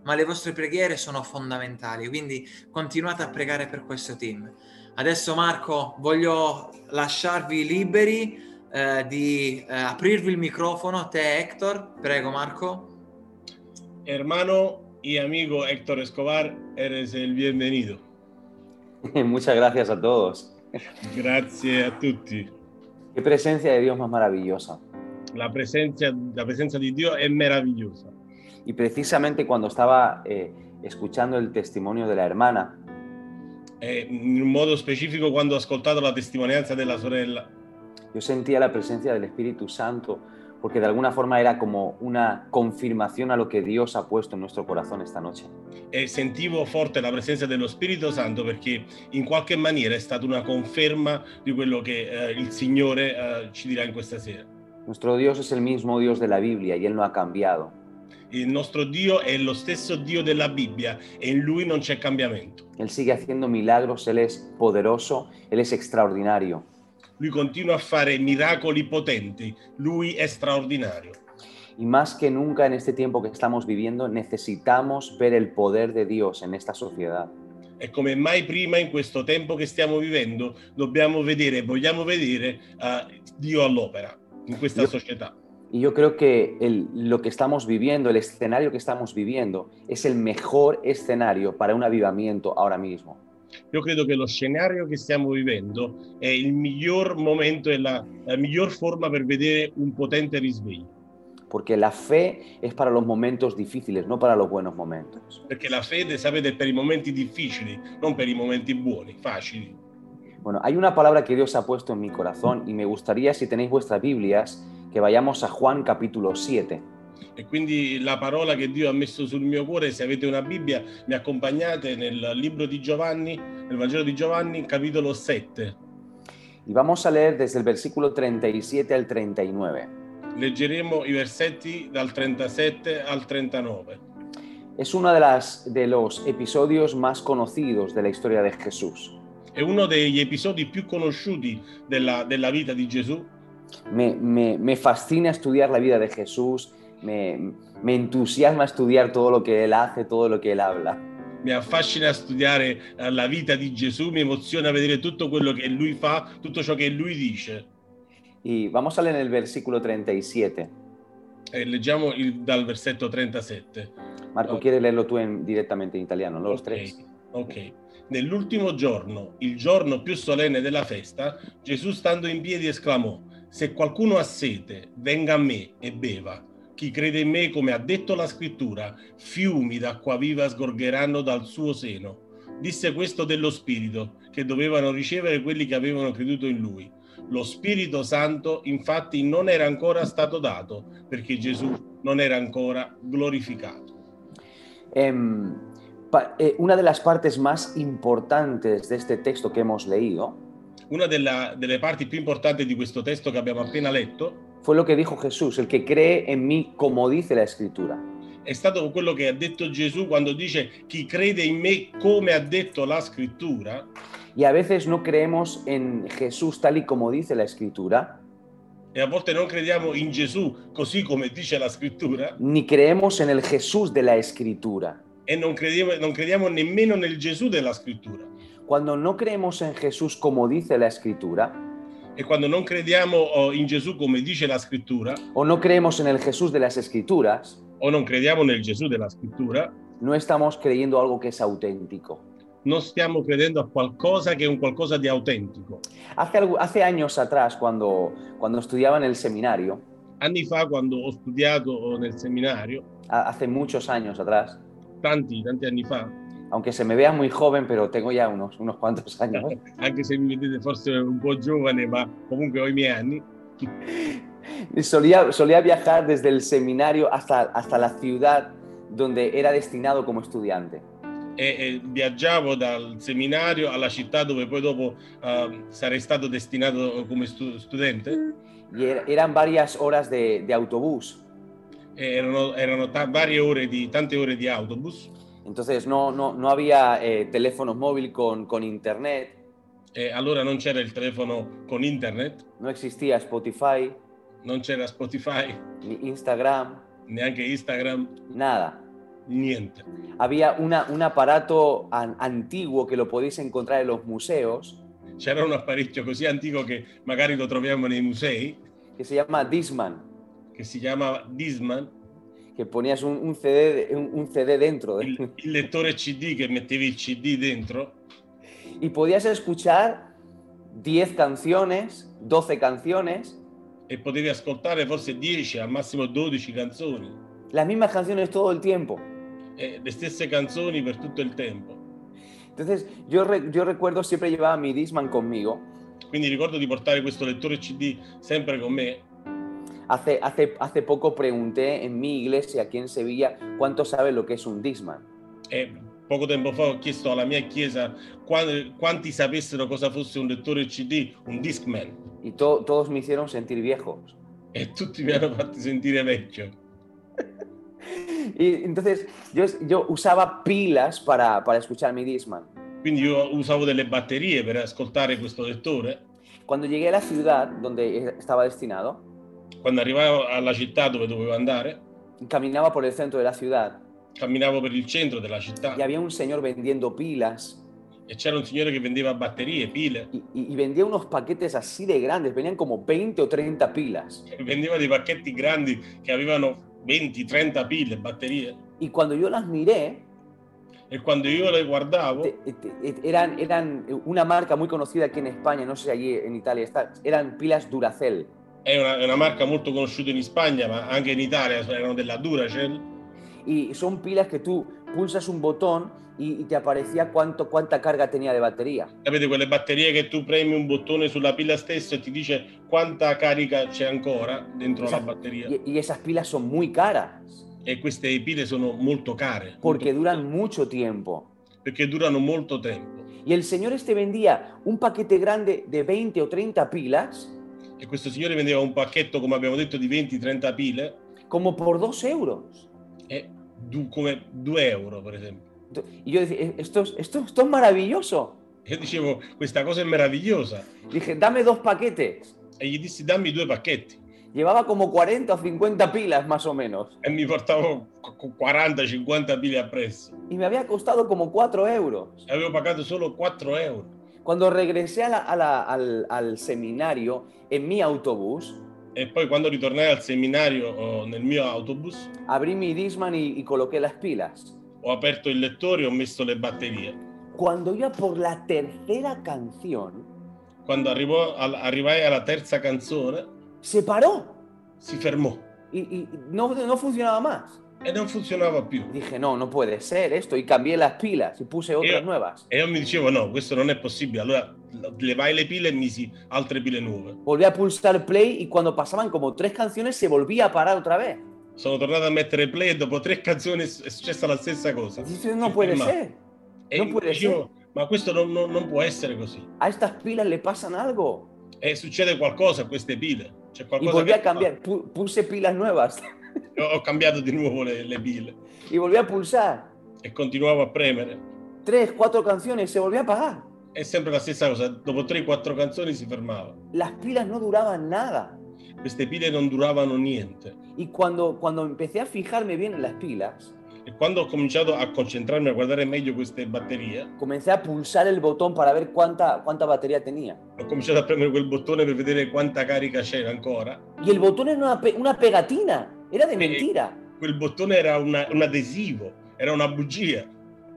ma le vostre preghiere sono fondamentali, quindi continuate a pregare per questo team. Adesso Marco, voglio lasciarvi liberi di aprirvi il microfono, a te Hector, prego Marco. Hermano y amigo Héctor Escobar, eres el bienvenido. Muchas gracias a todos. Grazie a tutti. Qué presencia de Dios más maravillosa. La presencia di Dio è meravigliosa. Y precisamente cuando estaba escuchando el testimonio de la hermana, In un modo specifico quando ho ascoltato la testimonianza della sorella, yo sentía la presencia del Espíritu Santo porque de alguna forma era como una confirmación a lo que Dios ha puesto en nuestro corazón esta noche. e sentivo forte la presenza dello Spirito Santo perché in qualche maniera è stata una conferma di quello che il Signore ci dirà in questa sera. Nuestro Dios es el mismo Dios de la Biblia y Él no ha cambiado. Il nostro Dio è lo stesso Dio della Bibbia e in Lui non c'è cambiamento. Él sigue haciendo milagros, Él es poderoso, Él es extraordinario. Lui continua a fare miracoli potenti, Lui è straordinario. Y más que nunca en este tiempo que estamos viviendo, necesitamos ver el poder de Dios en esta sociedad. E come mai prima in questo tempo che stiamo vivendo dobbiamo vedere, vogliamo vedere Dio all'opera in questa società. Y yo creo que lo que estamos viviendo, el escenario que estamos viviendo, es el mejor escenario para un avivamiento ahora mismo. Io credo che lo scenario che stiamo vivendo è il miglior momento e la miglior forma per vedere un potente risveglio. Porque la fe es para los momentos difíciles, no para los buenos momentos. Perché la fede, sapete, è per i momenti difficili, non per i momenti buoni, facili. Bueno, hay una palabra que Dios ha puesto en mi corazón y me gustaría, si tenéis vuestras Biblias, que vayamos a Juan capítulo 7. E quindi la parola che Dio ha messo sul mio cuore, se avete una Bibbia, mi accompagnate nel libro di Giovanni, nel Vangelo di Giovanni, capitolo 7. Y vamos a leer desde el versículo 37 al 39. Leggeremo i versetti dal 37 al 39. Es uno de los episodios más conocidos de la historia de Jesús. È uno degli episodi più conosciuti della vita di Gesù. Me fascina estudiar la vida de Jesús, me entusiasma estudiar todo lo que Él hace, todo lo que Él habla. Mi affascina studiare la vita di Gesù, mi emoziona vedere tutto quello che Lui fa, tutto ciò che Lui dice. Y vamos a leer el versículo 37. Leggiamo dal versetto 37. Marco, ¿quieres leerlo tú directamente en italiano, los tres? Ok. Nell'ultimo giorno, il giorno più solenne della festa, Gesù stando in piedi esclamò: se qualcuno ha sete, venga a me e beva. Chi crede in me, come ha detto la scrittura, fiumi d'acqua viva sgorgeranno dal suo seno. Disse questo dello Spirito, che dovevano ricevere quelli che avevano creduto in Lui. Lo Spirito Santo, infatti, non era ancora stato dato, perché Gesù non era ancora glorificato. Una de las partes más importantes de este texto que hemos leído, una delle parti più importanti di questo testo che abbiamo appena letto, fue lo que dijo Jesús: el que cree en mí, como dice la Escritura. È stato quello che ha detto Gesù quando dice: chi crede in me, come ha detto la Scrittura. Y a veces no creemos en Jesús tal y como dice la Escritura. E a volte non crediamo in Gesù così come dice la Scrittura. Ni creemos en el Jesús de la Escritura. E non crediamo nemmeno nel Gesù della Scrittura. Cuando no creemos en Jesús como dice la Escritura, e quando non crediamo in Gesù come dice la Scrittura, o no creemos en el Jesús de las Escrituras, o non crediamo nel Gesù della Scrittura, no estamos creyendo algo que es auténtico. Non stiamo credendo a qualcosa che è un qualcosa di autentico. Hace años atrás, cuando estudiaba en el seminario, anni fa, quando ho studiato nel seminario, hace muchos años atrás, tanti anni fa, aunque se me vea muy joven, pero tengo ya unos cuantos años. Anche se mi vedete forse un po' giovane, ma comunque ho i miei anni. Solía viajar desde el seminario hasta la ciudad donde era destinado como estudiante. E viaggiavo dal seminario alla città dove poi dopo sarei stato destinato come studente. Y eran varias horas de autobús. Erano tante ore di autobus. Entonces no había teléfonos móviles con internet. Allora non c'era il telefono con internet. No existía Spotify. Non c'era Spotify. Ni Instagram. Neanche Instagram. Nada. Niente. Había un aparato antiguo que lo podéis encontrar en los museos, C'era un apparecchio così antico che magari lo troviamo nei musei, que se llama Discman, che si chiamava Discman, que ponías un CD dentro il lettore CD che mettevi il CD dentro y podías escuchar 10 canciones, 12 canciones, e potevi ascoltare forse 10, al massimo 12 canzoni, las mismas canciones todo el tiempo. le stesse canzoni per tutto il tempo. Entonces yo recuerdo siempre llevaba mi Discman conmigo. Quindi ricordo di portare questo lettore CD sempre con me. Hace poco pregunté en mi iglesia aquí en Sevilla cuánto sabe lo que es un Discman. E poco tempo fa ho chiesto alla mia chiesa quanti sapessero cosa fosse un lettore CD, un Discman. Y todos me hicieron sentir viejos. E tutti mi hanno fatto sentire vecchio. Y entonces yo usaba pilas para escuchar mi Discman. Quindi io usavo delle batterie per ascoltare questo lettore. Cuando llegué a la ciudad donde estaba destinado, Quando arrivavo alla città dove dovevo andare, caminaba por el centro de la ciudad camminavo per il centro della città y había un señor vendiendo pilas e c'era un signore che vendeva batterie, pile, y vendía unos paquetes así de grandes, venían como 20 o 30 pilas. e vendeva dei pacchetti grandi che avevano 20-30 pile, batterie. Y cuando yo las miré, E quando io le guardavo, eran una marca muy conocida aquí en España, no sé si allí en Italia está, eran pilas Duracell. è una marca molto conosciuta in Spagna, ma anche in Italia erano della Duracell. Y son pilas que tú pulsas un botón y te aparecía cuánta carga tenía de batería. Sapete quelle batterie che tu premi un bottone sulla pila stessa e ti dice quanta carica c'è ancora dentro la batteria. Y esas pilas son muy caras E queste pile sono molto care. porque molto duran mucho tiempo. perché durano molto tempo. Y el señor este vendía un paquete grande de 20 o 30 pilas E questo signore vendeva un pacchetto, come abbiamo detto, di 20-30 pile, como por 2 euros. come 2 euro, per esempio. Y yo decía, esto es maravilloso. Io dicevo, questa cosa è meravigliosa. Dije, dame 2 paquetes. E gli dissi, dammi 2 pacchetti. Llevaba como 40 o 50 pilas más o menos. E mi portavo 40-50 pile appresso. Y me había costado como 4 euros. E avevo pagato solo 4 euro. Cuando regresé al seminario en mi autobús, E poi quando ritornai al seminario nel mio autobus, abrí mi Discman y coloqué las pilas. ho aperto il lettore e ho messo le batterie. Cuando iba por la tercera canción, Quando arrivai alla terza canzone, se paró si fermò y no funcionaba más. e non funzionava più. Dije, no puede ser esto. Y cambié las pilas y puse otras nuevas. E io mi dicevo, no, questo non è possibile. Allora levai le pile e misi altre pile nuove. Volví a pulsar play y cuando pasaban como 3 canciones se volvía a parar otra vez. Sono tornato a mettere play e dopo 3 canzoni è successa la stessa cosa. Dice, no puede ser. E No puede dicevo, ma questo non può essere così. A estas pilas le pasan algo. E succede qualcosa a queste pile. C'è Y qualcosa volví che a cambiar. Puse pilas nuevas ho cambiato di nuovo le pile y volví a pulsar. e continuavo a premere. 3, 4 canciones, se volvió a apagar. È sempre la stessa cosa. Dopo 3-4 canzoni si fermava. Las pilas no duraban nada. Queste pile non duravano niente. Y cuando empecé a fijarme bien en las pilas, E quando ho cominciato a concentrarmi a guardare meglio queste batterie, comencé a pulsar el botón para ver cuánta batería tenía. ho cominciato a premere quel bottone per vedere quanta carica c'era ancora. Y el botón era una pegatina, era de mentira. Quel bottone era un adesivo, era una bugia.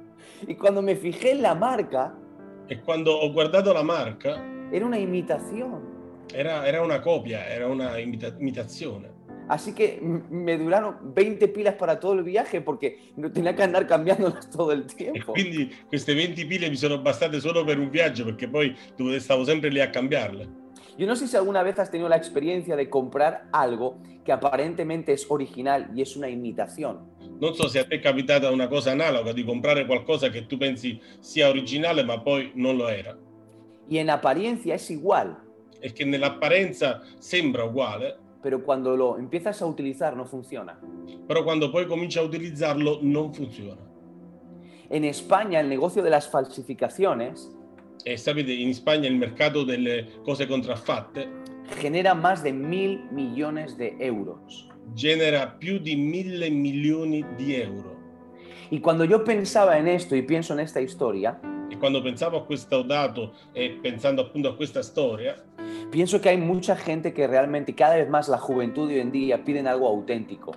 Y cuando me fijé en la marca, E quando ho guardato la marca, era una imitación. era una copia, era una imitazione. Así que me duraron 20 pilas para todo el viaje porque no tenía que andar cambiándolas todo el E tiempo. quindi queste 20 pile mi sono bastate solo per un viaggio, perché poi stavo sempre lì a cambiarle. Yo no sé si alguna vez has tenido la experiencia de comprar algo que aparentemente es original y es una imitación. Non so se a te è capitata una cosa analoga, di comprare qualcosa che tu pensi sia originale, ma poi non lo era. Y en apariencia es igual, E che nell'apparenza sembra uguale, pero cuando lo empiezas a utilizar no funciona. però quando poi cominci a utilizzarlo non funziona. En España el negocio de las falsificaciones E sapete, in Spagna il mercato delle cose contraffatte genera más de 1.000 millones de euros. genera più di 1.000 milioni di euro. Y cuando yo pensaba en esto y pienso en esta historia, E quando pensavo a questo dato e pensando appunto a questa storia, pienso que hay mucha gente que realmente, cada vez más la juventud de hoy en día piden algo auténtico.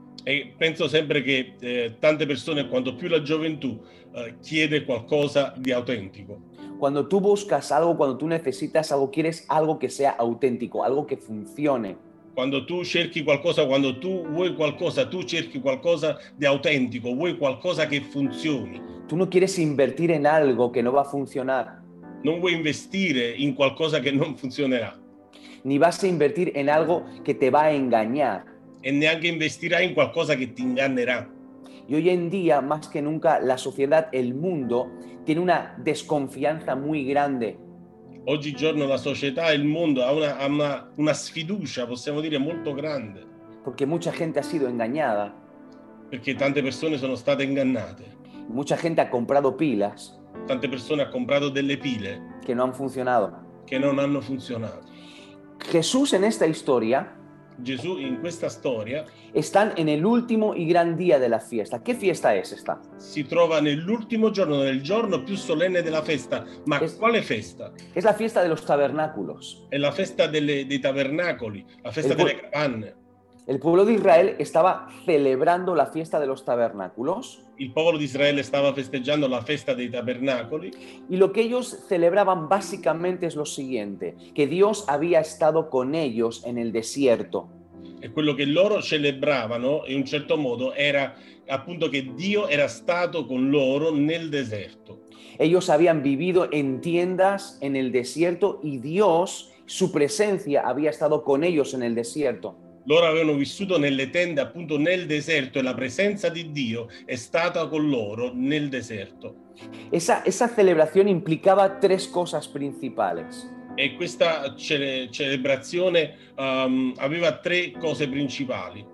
e penso sempre che tante persone, quanto più la gioventù, chiede qualcosa di autentico. Cuando tú buscas algo, cuando tú necesitas algo, quieres algo que sea auténtico, algo que funcione. Quando tu cerchi qualcosa, quando tu vuoi qualcosa, tu cerchi qualcosa di autentico, vuoi qualcosa che funzioni. Tú no quieres invertir en algo que no va a funcionar, Non vuoi investire in qualcosa che non funzionerà ni vas a invertir en algo que te va a engañar. e neanche investirai in qualcosa che ti ingannerà. Y hoy en día, más que nunca, la sociedad, el mundo, tiene una desconfianza muy grande. Oggigiorno la società e il mondo ha una sfiducia, possiamo dire, molto grande, Porque mucha gente ha sido engañada, perché tante persone sono state ingannate, mucha gente ha comprado pilas tante persone hanno comprato delle pile que no han funcionado. che non hanno funzionato. Jesús en esta historia Gesù in questa storia están en el último y gran día de la fiesta. ¿Qué fiesta es esta? si trova nell'ultimo giorno, nel giorno più solenne della festa. Ma quale festa? Es la fiesta de los tabernáculos. È la festa dei tabernacoli, la festa delle capanne. El pueblo de Israel estaba celebrando la fiesta de los tabernáculos Il popolo di Israele stava festeggiando la festa dei tabernacoli y lo que ellos celebraban básicamente es lo siguiente, que Dios había estado con ellos en el desierto. e quello che loro celebravano in un certo modo era appunto che Dio era stato con loro nel deserto. Ellos habían vivido en tiendas en el desierto y Dios, su presencia, había estado con ellos en el desierto. Loro avevano vissuto nelle tende appunto nel deserto e la presenza di Dio è stata con loro nel deserto. Esa celebración implicaba tres cosas principales. E questa celebrazione aveva tre cose principali.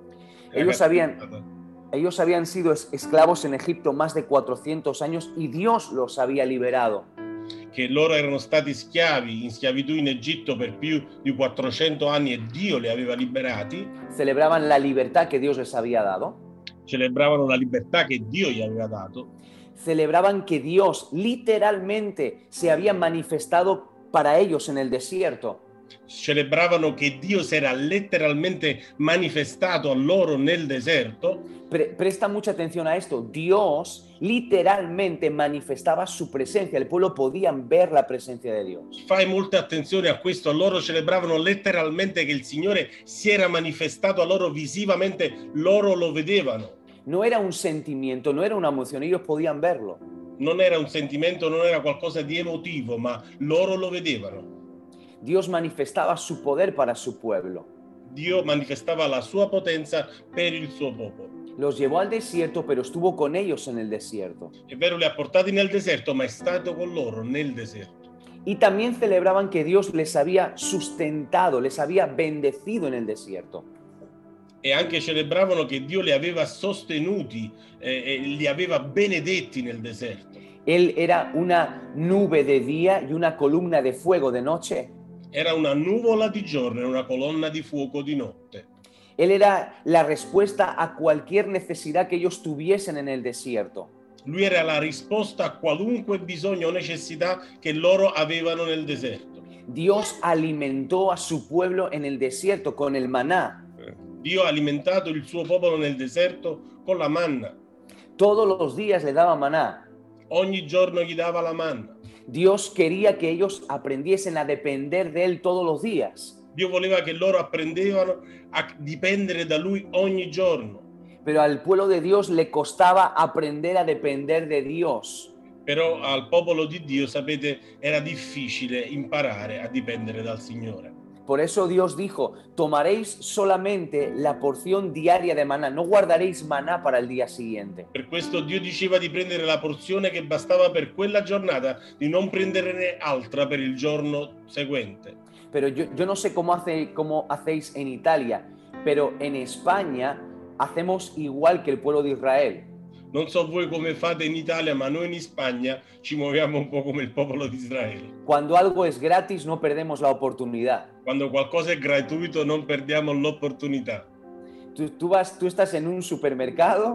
Ellos habían sido esclavos en Egipto más de 400 años y Dios los había liberado. Che loro erano stati schiavi in schiavitù in Egitto per più di 400 anni e Dio li aveva liberati. Celebraban la libertad que Dios les había dado. Celebravano la libertà che Dio gli aveva dato. Celebraban que Dios literalmente se había manifestado para ellos en el desierto. Celebravano che Dio si era letteralmente manifestato a loro nel deserto. Presta mucha atención a esto. Dios literalmente manifestaba su presencia. El pueblo podía ver la presencia de Dios. Fai molta attenzione a questo. Loro celebravano letteralmente che il Signore si era manifestato a loro visivamente. Loro lo vedevano. No era un sentimiento, no era una emoción. Ellos podían verlo. Non era un sentimento, non era qualcosa di emotivo, ma loro lo vedevano. Dios manifestaba su poder para su pueblo. Dio manifestava la sua potenza per il suo popolo. Los llevó al desierto, pero estuvo con ellos en el desierto. È vero, li ha portati nel deserto, ma è stato con loro nel deserto. Y también celebraban que Dios les había sustentado, les había bendecido en el desierto. E anche celebravano che Dio li aveva sostenuti e li aveva benedetti nel deserto. Él era una nube de día y una columna de fuego de noche. Era una nuvola di giorno e una colonna di fuoco di notte. Él era la respuesta a cualquier necesidad que ellos tuviesen en el desierto. Lui era la risposta a qualunque bisogno o necessità che loro avevano nel deserto. Dios alimentó a su pueblo en el desierto con el maná. Dio ha alimentato il suo popolo nel deserto con la manna. Todos los días le daba maná. Ogni giorno gli dava la manna. Dios quería que ellos aprendiesen a depender de Él todos los días. Dio voleva che loro apprendevano a dipendere da Lui ogni giorno. Pero al pueblo de Dios le costaba aprender a depender de Dios. Però al popolo di Dio, sapete, era difficile imparare a dipendere dal Signore. Por eso Dios dijo, tomaréis solamente la porción diaria de maná, no guardaréis maná para el día siguiente. Per questo Dio diceva di prendere la porzione che bastava per quella giornata, di non prenderne altra per il giorno seguente. Pero yo no sé cómo hacéis en Italia, pero en España hacemos igual que el pueblo de Israel. Non so voi come fate in Italia, ma noi in Spagna ci muoviamo un po' come il popolo di Israele. Cuando algo es gratis no perdemos la oportunidad. Quando qualcosa è gratuito non perdiamo l'opportunità. Tú estás en un supermercado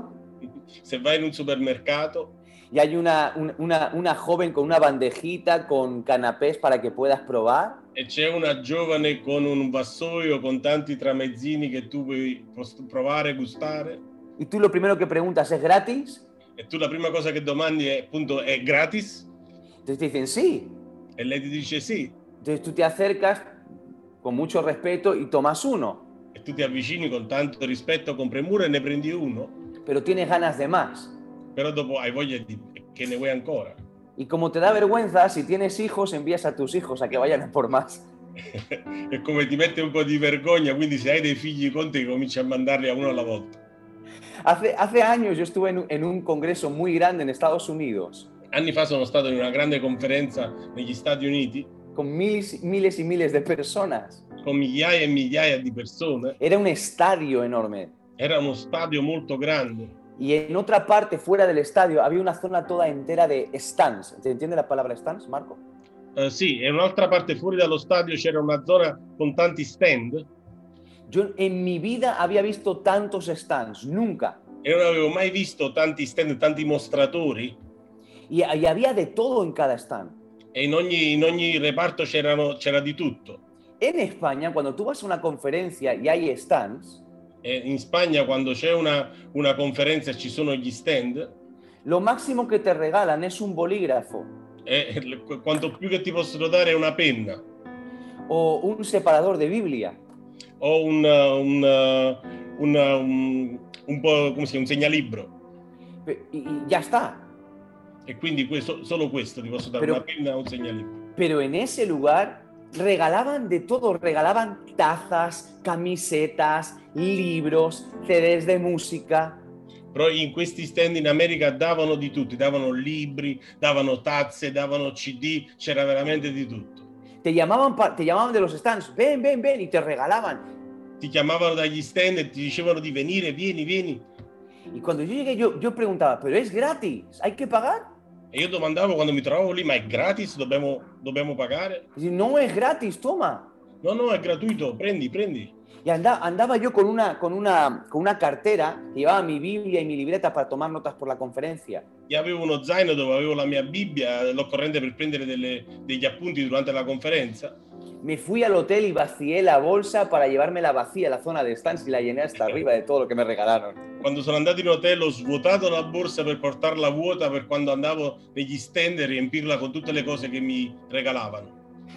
Se vai in un supermercato y hay una joven con una bandejita con canapés para que puedas probar, e c'è una giovane con un vassoio con tanti tramezzini che tu puoi provare, gustare, y tú lo primero que preguntas es ¿gratis? e tu la prima cosa che domandi è appunto è gratis? Entonces te dicen sí. E lei ti dice sì, Entonces tú te acercas con mucho respeto y tomas uno, e tu ti avvicini con tanto rispetto con premura e ne prendi uno, pero tienes ganas de más. però dopo hai voglia di che ne vuoi ancora. Y como te da vergüenza, si tienes hijos, envías a tus hijos a que vayan a por más. E come ti mette un po' di vergogna, quindi se hai dei figli con te cominci a mandarli a uno alla volta. Hace años yo estuve en un congreso muy grande en Estados Unidos, Anni fa sono stato in una grande conferenza negli Stati Uniti con miles y miles de personas. con migliaia e migliaia di persone. Era un estadio enorme. Era uno stadio molto grande Y en otra parte, fuera del estadio, había una zona toda entera de stands. ¿Te entiende la palabra stands, Marco? sì, e un'altra parte fuori dallo stadio c'era una zona con tanti stand Yo en mi vida había visto tantos stands, nunca. e non avevo mai visto tanti stand, tanti mostratori, Y había de todo en cada stand. e in ogni reparto c'era di tutto. En España, cuando tú vas a una conferencia y hay stands, E in Spagna quando c'è una conferenza e ci sono gli stand, lo máximo que te regalan es un bolígrafo quanto più che ti possono dare è una penna o un separador de Biblia. o un po' come si chiama, un segnalibro. Y ya está. E quindi solo questo ti posso dare, Però- una penna o un segnalibro. Pero en ese lugar regalaban de todo, regalaban tazas, camisetas, libros, CDs de música. Però in questi stand in America davano di tutto, davano libri, davano tazze, davano CD, c'era veramente di tutto. Te llamaban de los stands, ven, ven, ven, y te regalaban. Ti chiamavano dagli stand e ti dicevano di venire, vieni, vieni. Y cuando yo llegué, yo preguntaba, ¿pero es gratis? ¿Hay que pagar? E io domandavo quando mi trovavo lì, ma è gratis? Dobbiamo pagare? Y dice, no es gratis, toma. No, no, è gratuito, prendi. Y andaba yo con una cartera que llevaba mi Biblia y mi libreta para tomar notas por la conferencia. Io avevo uno zaino dove avevo la mia Bibbia, l'occorrente per prendere degli appunti durante la conferenza. Me fui al hotel y vacié la bolsa para llevármela vacía a la zona de stands y la llené hasta arriba de todo lo que me regalaron. Quando sono andato in hotel ho svuotato la borsa per portarla vuota per quando andavo negli stand e riempirla con tutte le cose che mi regalavano.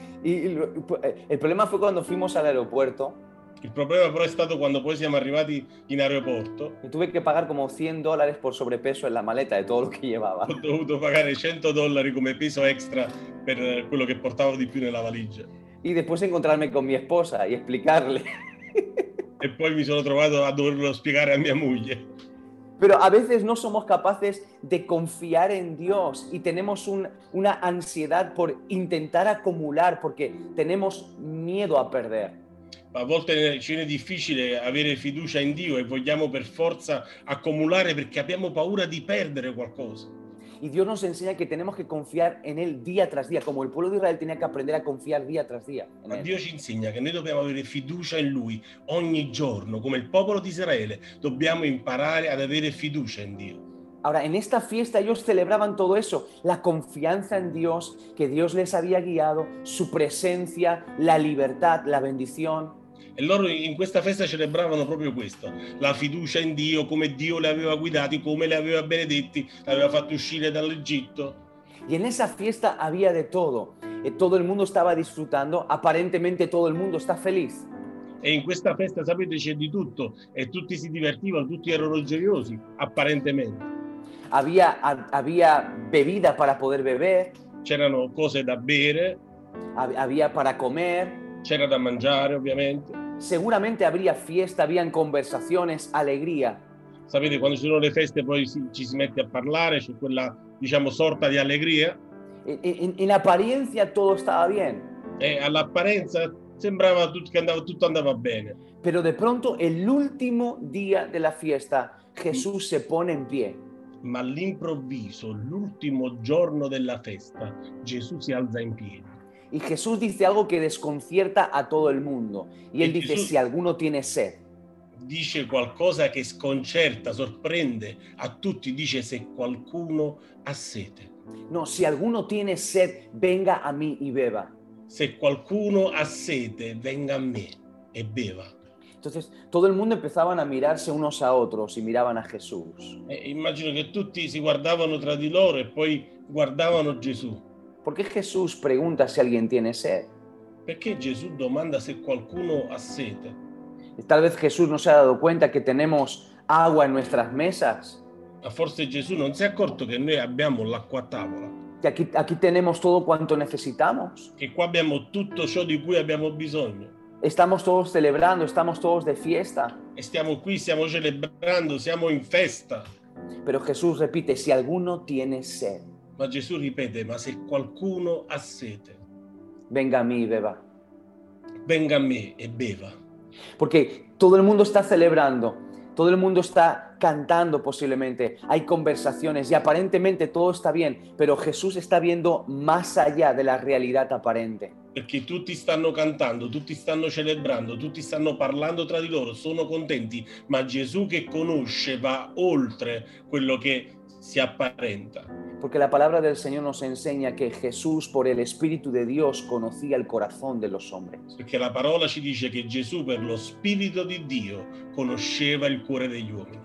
El problema fue cuando fuimos al aeropuerto. Il problema però è stato quando poi siamo arrivati in aeroporto. Y tuve que pagar como $100 por sobrepeso en la maleta de todo lo que llevaba. Ho dovuto pagare $100 come peso extra per quello che portavo di più nella valigia. Y después encontrarme con mi esposa y explicarle. E poi mi sono trovato a doverlo spiegare a mia moglie. Pero a veces no somos capaces de confiar en Dios y tenemos una ansiedad por intentar acumular porque tenemos miedo a perder. A volte ci è difficile avere fiducia in Dio e vogliamo per forza accumulare perché abbiamo paura di perdere qualcosa. Y Dios nos enseña que tenemos que confiar en Él día tras día, como el pueblo de Israel tenía que aprender a confiar día tras día en Ma Él. Dio ci insegna che noi dobbiamo avere fiducia in Lui ogni giorno, come il popolo di Israele. Dobbiamo imparare ad avere fiducia in Dio. Ahora, en esta fiesta ellos celebraban todo eso, la confianza en Dios, que Dios les había guiado, su presencia, la libertad, la bendición. E loro in questa festa celebravano proprio questo, la fiducia in Dio, come Dio li aveva guidati, come li aveva benedetti, li aveva fatti uscire dall'Egitto. Y en esa fiesta había de todo. Todo el mundo estaba disfrutando, aparentemente todo el mundo está feliz. E in questa festa, sapete, c'è di tutto e tutti si divertivano, tutti erano gioiosi, apparentemente. Había bebida para poder beber, C'erano cose da bere, había para comer, c'era da mangiare ovviamente. seguramente habría fiesta, habían conversaciones, alegría. Sapete, quando ci sono le feste poi ci si mette a parlare, c'è quella, diciamo, sorta di allegria En apariencia todo estaba bien, e all'apparenza sembrava che tutto andava bene. pero de pronto el último día de la fiesta Jesús se pone en pie. Ma all'improvviso, l'ultimo giorno della festa, Gesù si alza in piedi. Y Jesús dice algo que desconcierta a todo el mundo. Y él dice, Jesús- si alguno tiene sed, dice qualcosa che sconcerta, sorprende a tutti, dice se qualcuno ha sete. No, si alguno tiene sed, venga a mí y beba. Se qualcuno ha sete, venga a me e beva. Entonces, todo el mundo empezaban a mirarse unos a otros y miraban a Jesús. Immagino che tutti si guardavano tra di loro e poi guardavano Gesù. ¿Por qué Jesús pregunta si alguien tiene sed? Perché Gesù domanda se qualcuno ha sete? Tal vez Jesús no se ha dado cuenta que tenemos agua en nuestras mesas, Ma forse Gesù non si è accorto che noi abbiamo l'acqua a tavola, que aquí tenemos todo cuanto necesitamos. che qua abbiamo tutto ciò di cui abbiamo bisogno. Estamos todos celebrando, estamos todos de fiesta. E stiamo qui, stiamo celebrando, siamo in festa. Pero Jesús repite, si alguno tiene sed, Ma Gesù ripete, ma se qualcuno ha sete, venga a mí y beba. venga a me e beva. Porque todo el mundo está celebrando, todo el mundo está cantando posiblemente, hay conversaciones y aparentemente todo está bien, pero Jesús está viendo más allá de la realidad aparente. Perché tutti stanno cantando, tutti stanno celebrando, tutti stanno parlando tra di loro, sono contenti, ma Gesù che conosce va oltre quello che si apparenta. Porque la palabra del Señor nos enseña que Jesús, por el Espíritu de Dios, conocía el corazón de los hombres. Perché la parola ci dice che Gesù per lo Spirito di Dio conosceva il cuore degli uomini.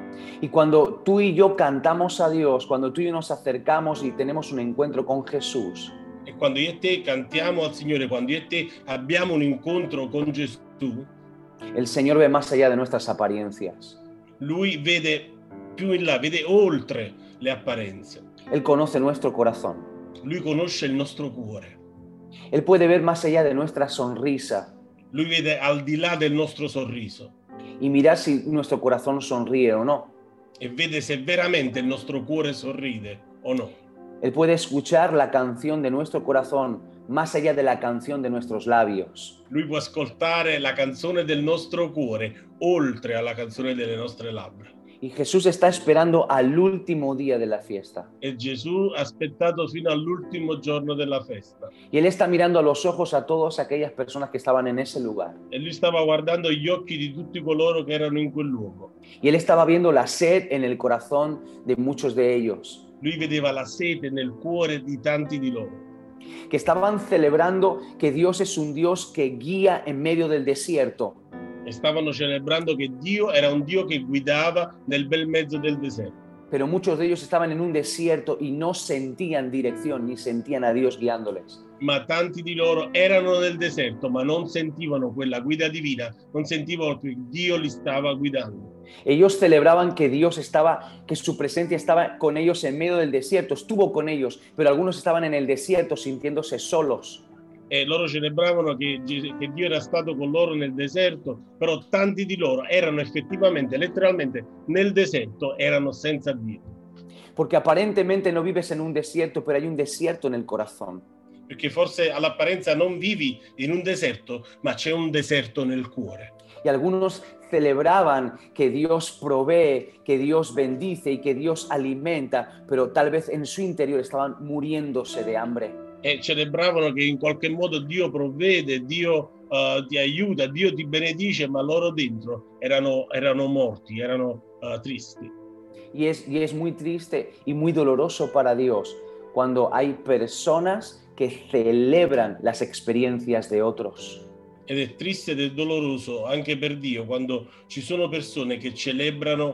Y cuando tú y yo cantamos a Dios, cuando tú y yo nos acercamos y tenemos un encuentro con Jesús, E quando io e te cantiamo al Signore, quando io e te abbiamo un incontro con Gesù, el Señor ve más allá de nuestras apariencias. Lui vede più in là, vede oltre le apparenze. Él conoce nuestro corazón. Lui conosce il nostro cuore. Él puede ver más allá de nuestra sonrisa Lui vede al di là del nostro sorriso y mirar si nuestro corazón sonríe o no. e vede se veramente il nostro cuore sorride o no. Él puede escuchar la canción de nuestro corazón más allá de la canción de nuestros labios. Lui può ascoltare la canzone del nostro cuore oltre alla canzone delle nostre labbra. Y Jesús está esperando al último día de la fiesta. E Gesù ha aspettato fino all'ultimo giorno della festa Y Él está mirando a los ojos a todas aquellas personas que estaban en ese lugar. e lui stava guardando gli occhi di tutti coloro che erano in quel luogo. Y Él estaba viendo la sed en el corazón de muchos de ellos, Lui vedeva la sete nel cuore di tanti di loro, que estaban celebrando que Dios es un Dios que guía en medio del desierto. e stavano celebrando che Dio era un Dio che guidava nel bel mezzo del deserto. Pero muchos de ellos estaban en un desierto y no sentían dirección ni sentían a Dios guiándoles. Ma tanti di loro erano nel deserto, ma non sentivano quella guida divina, non sentivano che Dio li stava guidando. Ellos celebraban que Dios estaba, que su presencia estaba con ellos en medio del desierto, estuvo con ellos, pero algunos estaban en el desierto sintiéndose solos. E loro celebravano che Dio era stato con loro nel deserto, però tanti di loro erano effettivamente, letteralmente, nel deserto, erano senza Dio. Porque aparentemente no vives en un desierto, pero hay un desierto en el corazón. Perché forse all'apparenza non vivi in un deserto, ma c'è un deserto nel cuore. Y algunos celebraban que Dios provee, que Dios bendice y que Dios alimenta, pero tal vez en su interior estaban muriéndose de hambre. E celebravano che in qualche modo Dio provvede, Dio ti aiuta, Dio ti benedice, ma loro dentro erano morti, erano tristi. Y es muy triste y muy doloroso para Dios cuando hay personas que celebran las experiencias de otros. Ed è triste ed è doloroso anche per Dio quando ci sono persone che celebrano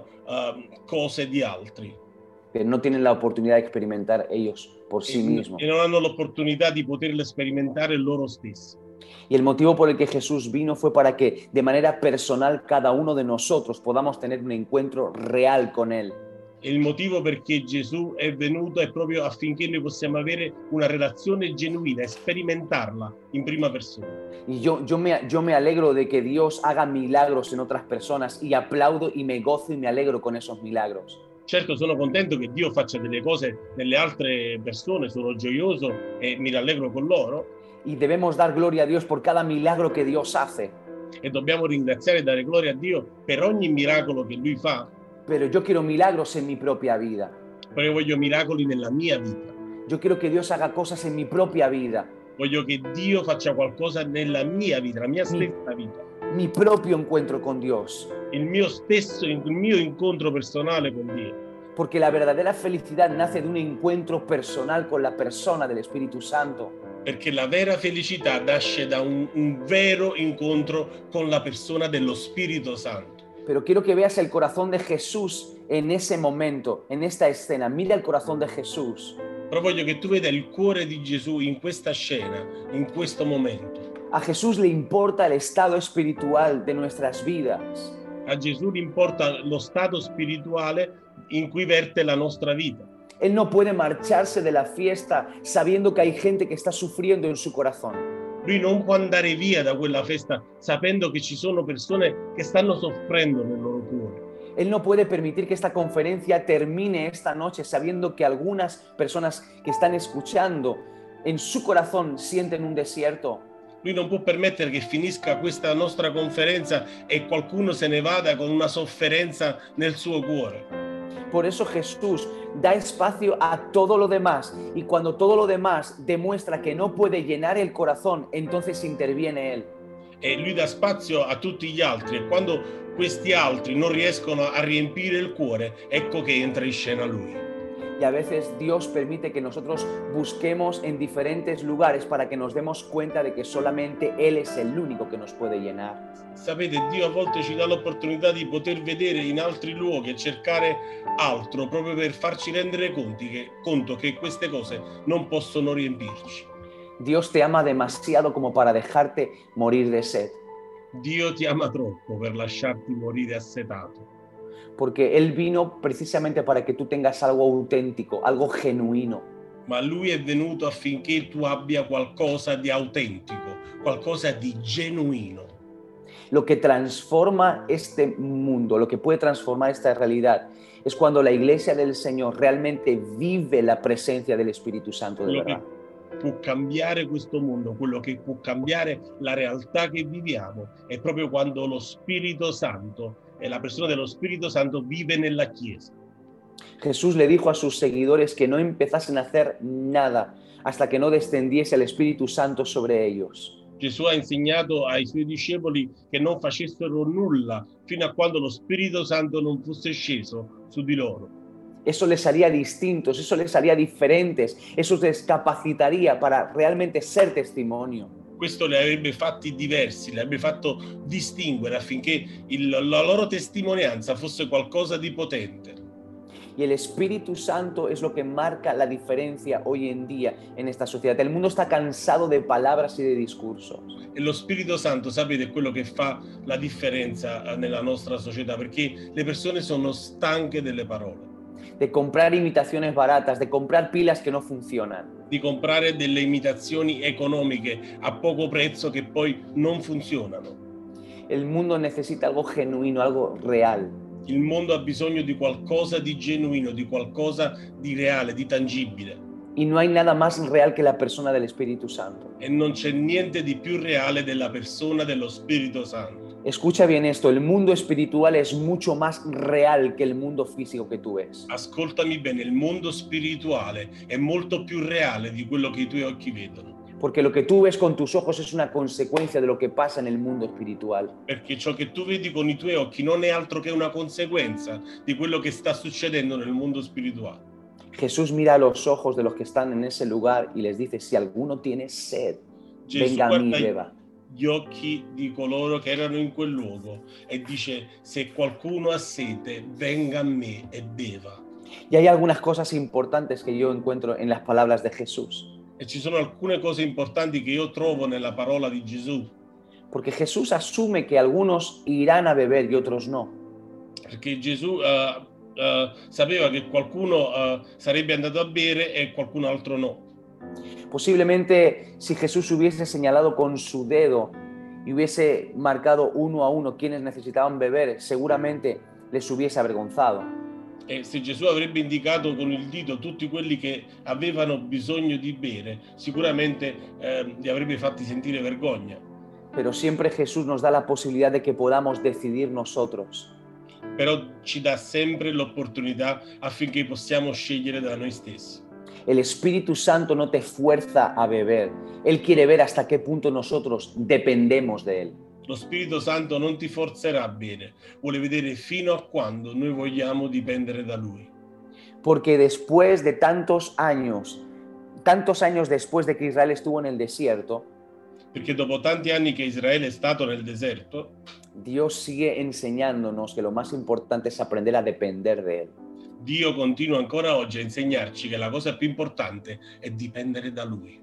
cose di altri Que no tienen la oportunidad de experimentar ellos por sí mismos. e non hanno l'opportunità di poterle sperimentare loro stessi. Y el motivo por el que Jesús vino fue para que de manera personal cada uno de nosotros podamos tener un encuentro real con Él. E il motivo perché Gesù è venuto è proprio affinché noi possiamo avere una relazione genuina e sperimentarla in prima persona. Y yo me alegro de que Dios haga milagros en otras personas y aplaudo y me gozo y me alegro con esos milagros. Certo, sono contento che Dio faccia delle cose nelle altre persone, sono gioioso e mi rallegro con loro. Y debemos dar gloria a Dios por cada milagro que Dios hace. E dobbiamo ringraziare e dare gloria a Dio per ogni miracolo che Lui fa. Pero yo quiero milagros en mi propia vida. Però io voglio miracoli nella mia vita. Yo quiero que Dios haga cosas en mi propia vida. Voglio che Dio faccia qualcosa nella mia vita, la mia stessa vita. mi propio encuentro con Dios. il mio incontro personale con Dio. Porque la verdadera felicidad nace de un encuentro personal con la persona del Espíritu Santo. Perché la vera felicità nasce da un vero incontro con la persona dello Spirito Santo. Pero quiero que veas el corazón de Jesús en ese momento, en esta escena. Mira el corazón de Jesús. Però voglio che tu veda il cuore di Gesù in questa scena, in questo momento. A Jesús le importa el estado espiritual de nuestras vidas. A Gesù gli importa lo stato spirituale in cui verte la nostra vita. Él no puede marcharse de la fiesta sabiendo que hay gente que está sufriendo en su corazón. Lui non può andare via da quella festa sapendo che ci sono persone che stanno soffrendo nel loro cuore. Él no puede permitir que esta conferencia termine esta noche sabiendo que algunas personas que están escuchando en su corazón sienten un desierto. Lui non può permettere che finisca questa nostra conferenza e qualcuno se ne vada con una sofferenza nel suo cuore. Por eso Jesús da espacio a todo lo demás y cuando todo lo demás demuestra que no puede llenar el corazón, entonces interviene Él. E lui dà spazio a tutti gli altri e quando questi altri non riescono a riempire il cuore, ecco che entra in scena lui. Y a veces Dios permite que nosotros busquemos en diferentes lugares para que nos demos cuenta de que solamente Él es el único que nos puede llenar. Sapete, Dio a volte ci dà l'opportunità di poter vedere in altri luoghi e cercare altro proprio per farci rendere conto che queste cose non possono riempirci. Dios te ama demasiado como para dejarte morir de sed, Dio ti ama troppo per lasciarti morire assetato, porque Él vino precisamente para que tú tengas algo auténtico, algo genuino. ma Lui è venuto affinché tu abbia qualcosa di autentico, qualcosa di genuino. Lo que transforma este mundo, lo que puede transformar esta realidad, es cuando la iglesia del Señor realmente vive la presencia del Espíritu Santo de Quello verdad. che può cambiare questo mondo, quello che può cambiare la realtà che viviamo, è proprio quando lo Spirito Santo e la persona dello Spirito Santo vive nella Chiesa. Jesús le dijo a sus seguidores que no empezasen a hacer nada hasta que no descendiese el Espíritu Santo sobre ellos. Gesù ha insegnato ai suoi discepoli che non facessero nulla fino a quando lo Spirito Santo non fosse sceso su di loro. Eso les haría distintos, eso les haría diferentes, eso les capacitaría para realmente ser testimonio. Questo li avrebbe fatti diversi, li avrebbe fatto distinguere affinché la loro testimonianza fosse qualcosa di potente. Y el Espíritu Santo es lo que marca la diferencia hoy en día en esta sociedad. El mundo está cansado de palabras y de discursos. E lo Spirito Santo, sapete, è quello che fa la differenza nella nostra società, perché le persone sono stanche delle parole, De comprar imitaciones baratas, de comprar pilas que no funcionan. di comprare delle imitazioni economiche a poco prezzo che poi non funzionano. El mundo necesita algo genuino, algo real. Il mondo ha bisogno di qualcosa di genuino, di qualcosa di reale, di tangibile. Y no hay nada más real que la persona del Espíritu Santo. E non c'è niente di più reale della persona dello Spirito Santo. Escucha bien esto, el mundo espiritual es mucho más real que el mundo físico que tú ves. Ascoltami bene, il mondo spirituale è molto più reale di quello che i tuoi occhi vedono. Porque lo que tú ves con tus ojos es una consecuencia de lo que pasa en el mundo espiritual. Perché ciò che tu vedi con i tuoi occhi non è altro che una conseguenza di quello che sta succedendo nel mondo spirituale. Jesús mira a los ojos de los que están en ese lugar y les dice, si alguno tiene sed, Gesù venga a mí y guarda beba. gli occhi di coloro che erano in quel luogo e dice: se qualcuno ha sete, venga a me e beva. Y hay algunas cosas importantes que yo encuentro en las palabras de Jesús. E ci sono alcune cose importanti che io trovo nella parola di Gesù, Porque Jesús asume que algunos irán a beber y otros no. perché Gesù sapeva che qualcuno sarebbe andato a bere e qualcun altro no. Posiblemente si Jesús hubiese señalado con su dedo y hubiese marcado uno a uno quienes necesitaban beber, seguramente les hubiese avergonzado. E se Gesù avrebbe indicato con il dito tutti quelli che avevano bisogno di bere, sicuramente li avrebbe fatti sentire vergogna. Pero siempre Jesús nos da la posibilidad de que podamos decidir nosotros. Però ci dà sempre l'opportunità affinché possiamo scegliere da noi stessi. El Espíritu Santo no te fuerza a beber. Él quiere ver hasta qué punto nosotros dependemos de Él. Lo Spirito Santo non ti forzerà a bere, vuole vedere fino a quando noi vogliamo dipendere da Lui. Porque después de tantos años después de que Israel estuvo en el desierto, Perché dopo tanti anni che Israele è stato nel deserto, Dios sigue enseñándonos que lo más importante es aprender a depender de Él. Dio continua ancora oggi a insegnarci che la cosa più importante è dipendere da Lui,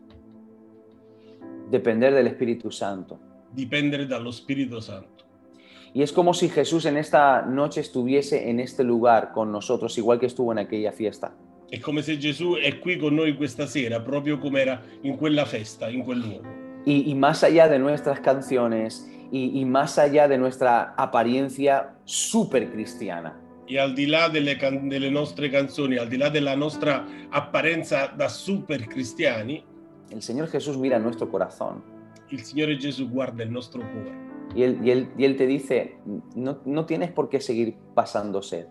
Depender del Espíritu Santo. dipendere dallo Spirito Santo. Y es como si Jesús en esta noche estuviese en este lugar con nosotros, igual que estuvo en aquella fiesta. È come se Gesù è qui con noi questa sera, proprio come era in quella festa, in quel luogo. Y más allá de nuestras canciones y más allá de nuestra apariencia súper cristiana, E al di là delle nostre canzoni, al di là della nostra apparenza da super cristiani, el Señor Jesús mira nuestro corazón il Signore Gesù guarda il nostro cuore y Él te dice, no tienes por qué seguir pasando sed,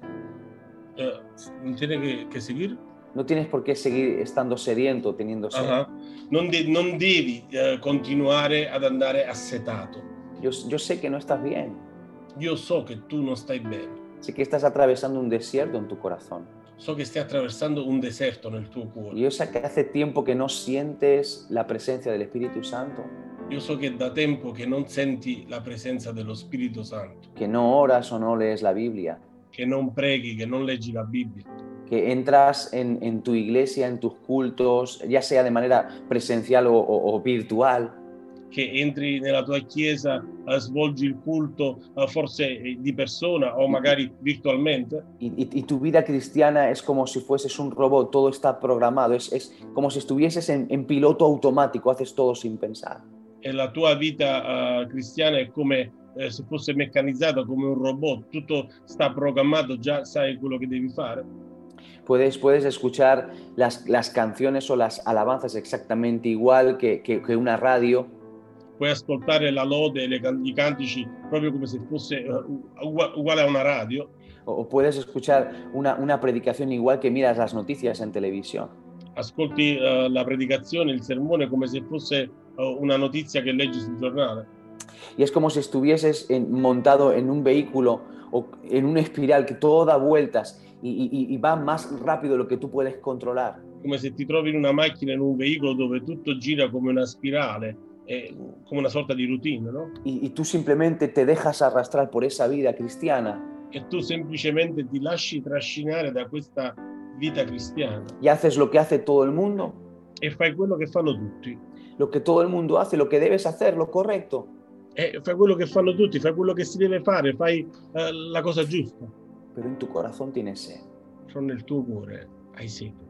non tiene che seguire? no tienes por qué seguir estando sediento, teniendo sed. Non devi continuare ad andare assetato. Yo sé que no estás bien, Io so che tu non stai bene, sé que estás atravesando un desierto en tu corazón. so che stai attraversando un deserto nel tuo cuore. Y yo sé que hace tiempo que no sientes la presencia del Espíritu Santo, Io so che da tempo che non senti la presenza dello Spirito Santo, que no oras o no lees la Biblia, che non preghi, che non leggi la Bibbia, que entras en tu iglesia, en tus cultos, ya sea de manera presencial o virtual, che entri nella tua chiesa, svolgi il culto forse di persona o magari virtualmente, y tu vida cristiana es como si fueses un robot, todo está programado, es como si estuvieses en piloto automático, haces todo sin pensar. e la tua vita cristiana è come se fosse meccanizzata, come un robot, tutto sta programmato, già sai quello che devi fare. Puedes escuchar las canciones o las alabanzas exactamente igual que una radio, Puoi ascoltare la lode e i cantici proprio come se fosse uguale a una radio, o puedes escuchar una predicación igual que miras las noticias en televisión. ascolti la predicazione, il sermone come se fosse una notizia che leggi sul giornale. Y es como si estuvieses montado en un vehículo o en una espiral que todo da vueltas y va más rápido de lo que tú puedes controlar. Come se ti trovi in una macchina, in un veicolo dove tutto gira come una spirale, come una sorta di routine, no? Y tú simplemente te dejas arrastrar por esa vida cristiana E tu semplicemente ti lasci trascinare da questa vita cristiana y haces lo que hace todo el mundo, e fai quello che fanno tutti. lo que todo el mundo hace, lo que debes hacer, lo correcto. E fai quello che fanno tutti, fai quello che si deve fare, fai la cosa giusta. Pero en tu corazón tienes sed. Però nel tuo cuore hai sete.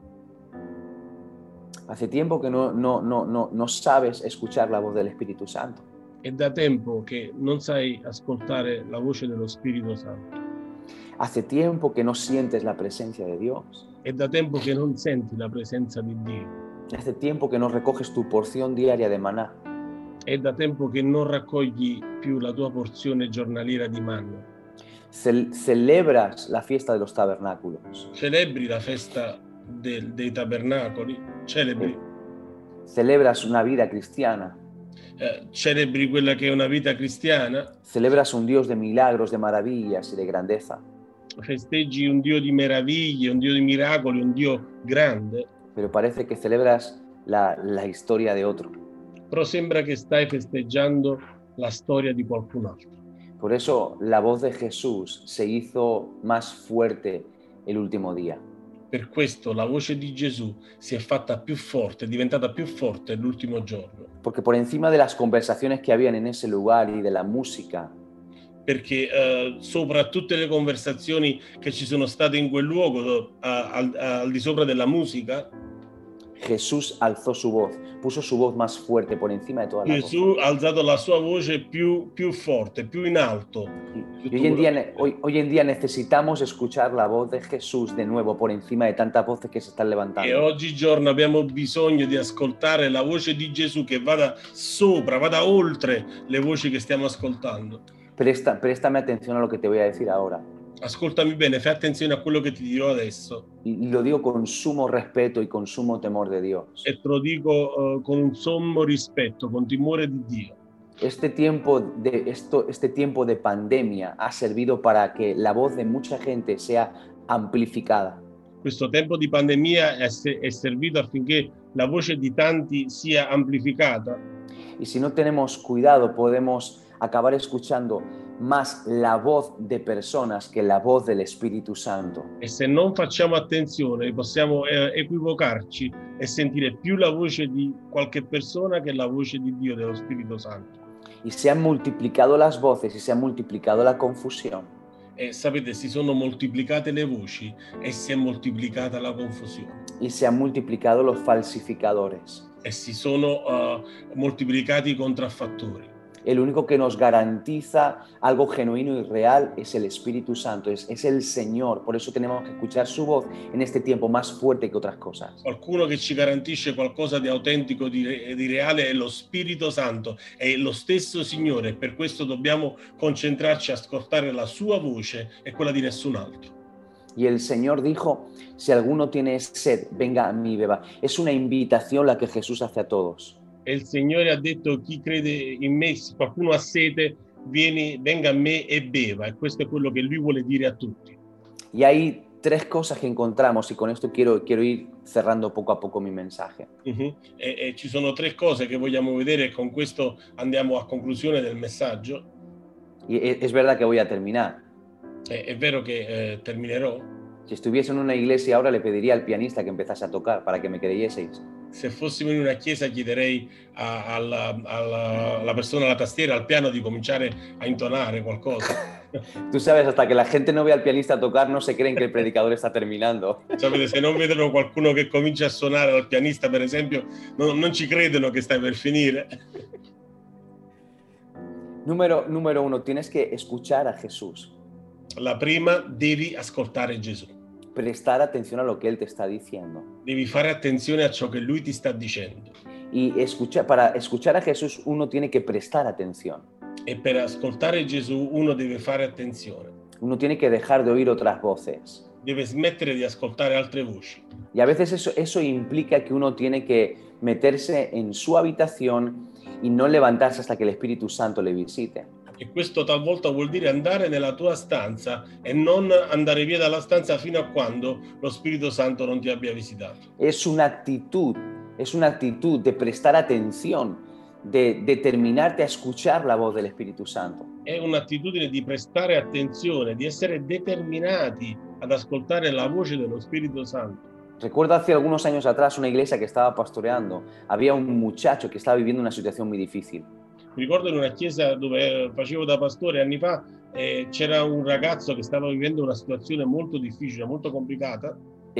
Hace tiempo que no sabes escuchar la voz del Espíritu Santo. È da tempo che non sai ascoltare la voce dello Spirito Santo. Hace tiempo que no sientes la presencia de Dios. È da tempo che non senti la presenza di Dio. Hace tiempo que no recoges tu porción diaria de maná. È da tempo che non raccogli più la tua porzione giornaliera di manna. Celebras la fiesta de los tabernáculos. Celebri la festa dei tabernacoli, celebri Celebras una vida cristiana. celebri quella che è una vita cristiana, Celebras un Dios de milagros, de maravillas y de grandeza. festeggi un Dio di meraviglie, un Dio di miracoli, un Dio grande, Pero parece que celebras la historia de otro. però sembra che stai festeggiando la storia di qualcun altro. Por eso la voz de Jesús se hizo más fuerte el último día. Per questo la voce di Gesù si è fatta più forte, è diventata più forte l'ultimo giorno, Porque por encima de las conversaciones que habían en ese lugar y de la música, perché sopra tutte le conversazioni che ci sono state in quel luogo, al di sopra della musica, Jesús alzó su voz, puso su voz más fuerte por encima de toda la voz. Gesù ha alzato la sua voce più forte, più in alto. Y hoy en día necesitamos escuchar la voz de Jesús de nuevo por encima de tantas voces que se están E levantando. oggigiorno abbiamo bisogno di ascoltare la voce di Gesù che vada sopra, vada oltre le voci che stiamo ascoltando. Préstame atención a lo que te voy a decir ahora. Ascoltami bene, fai attenzione a quello che ti dirò adesso. Y lo digo con sumo respeto y con sumo temor de Dios. E te lo dico con un sommo rispetto, con timore di Dio. Este tiempo de pandemia ha servido para que la voz de mucha gente sea amplificada. Questo tempo di pandemia è servito affinché la voce di tanti sia amplificata. Y si no tenemos cuidado, podemos acabar escuchando más la voz de personas que la voz del Espíritu Santo. E se non facciamo attenzione possiamo equivocarci e sentire più la voce di qualche persona che la voce di Dio, dello Spirito Santo. Y se han multiplicado las voces y se ha multiplicado la confusión. E sapete, si sono moltiplicate le voci e si è moltiplicata la confusione. Y se han multiplicado los falsificadores. E si sono moltiplicati i contraffattori. El único que nos garantiza algo genuino y real es el Espíritu Santo, es el Señor. Por eso tenemos que escuchar su voz en este tiempo más fuerte que otras cosas. Qualcuno che ci garantisce qualcosa di autentico, di reale, è lo Spirito Santo, è lo stesso Signore, e per questo dobbiamo concentrarci a ascoltare la sua voce e quella di nessun altro. Y el Señor dijo, si alguno tiene sed, venga a mí y beba. Es una invitación la que Jesús hace a todos. E il Signore ha detto: chi crede in me, se qualcuno ha sete, venga a me e beva. E questo è quello che Lui vuole dire a tutti. Y hay tres cosas que encontramos y con esto quiero ir cerrando poco a poco mi mensaje. E ci sono tre cose che vogliamo vedere, e con questo andiamo a conclusione del messaggio. Y es verdad que voy a terminar. È vero che terminerò. Si estuviese en una iglesia ahora le pediría al pianista que empezase a tocar para que me creyeseis. Se fossimo in una chiesa chiederei alla persona alla tastiera, al piano, di cominciare a intonare qualcosa. Tú sabes, hasta que la gente no vea al pianista tocar, no se creen que el predicador está terminando. Sapete, se non vedono qualcuno che comincia a suonare, al pianista per esempio, non ci credono che stai per finire. Número uno, tienes que escuchar a Jesús. La prima, devi ascoltare Gesù. Prestar atención a lo que Él te está diciendo. Devi fare attenzione a ciò che Lui ti sta dicendo. Y para escuchar a Jesús uno tiene que prestar atención. E per ascoltare Gesù uno deve fare attenzione. Uno tiene que dejar de oír otras voces. Deve smettere di ascoltare altre voci. Y a veces eso implica que uno tiene que meterse en su habitación y no levantarse hasta que el Espíritu Santo le visite. E questo talvolta vuol dire andare nella tua stanza e non andare via dalla stanza fino a quando lo Spirito Santo non ti abbia visitato. Es una actitud de prestar atención, de determinarte a escuchar la voz del Espíritu Santo. È un'attitudine di prestare attenzione, di essere determinati ad ascoltare la voce dello Spirito Santo. Recuerdo hace algunos años atrás una iglesia que estaba pastoreando. Había un muchacho que estaba viviendo una situación muy difícil. Mi ricordo in una chiesa dove facevo da pastore anni fa, c'era un ragazzo che stava vivendo una situazione molto difficile, molto complicata.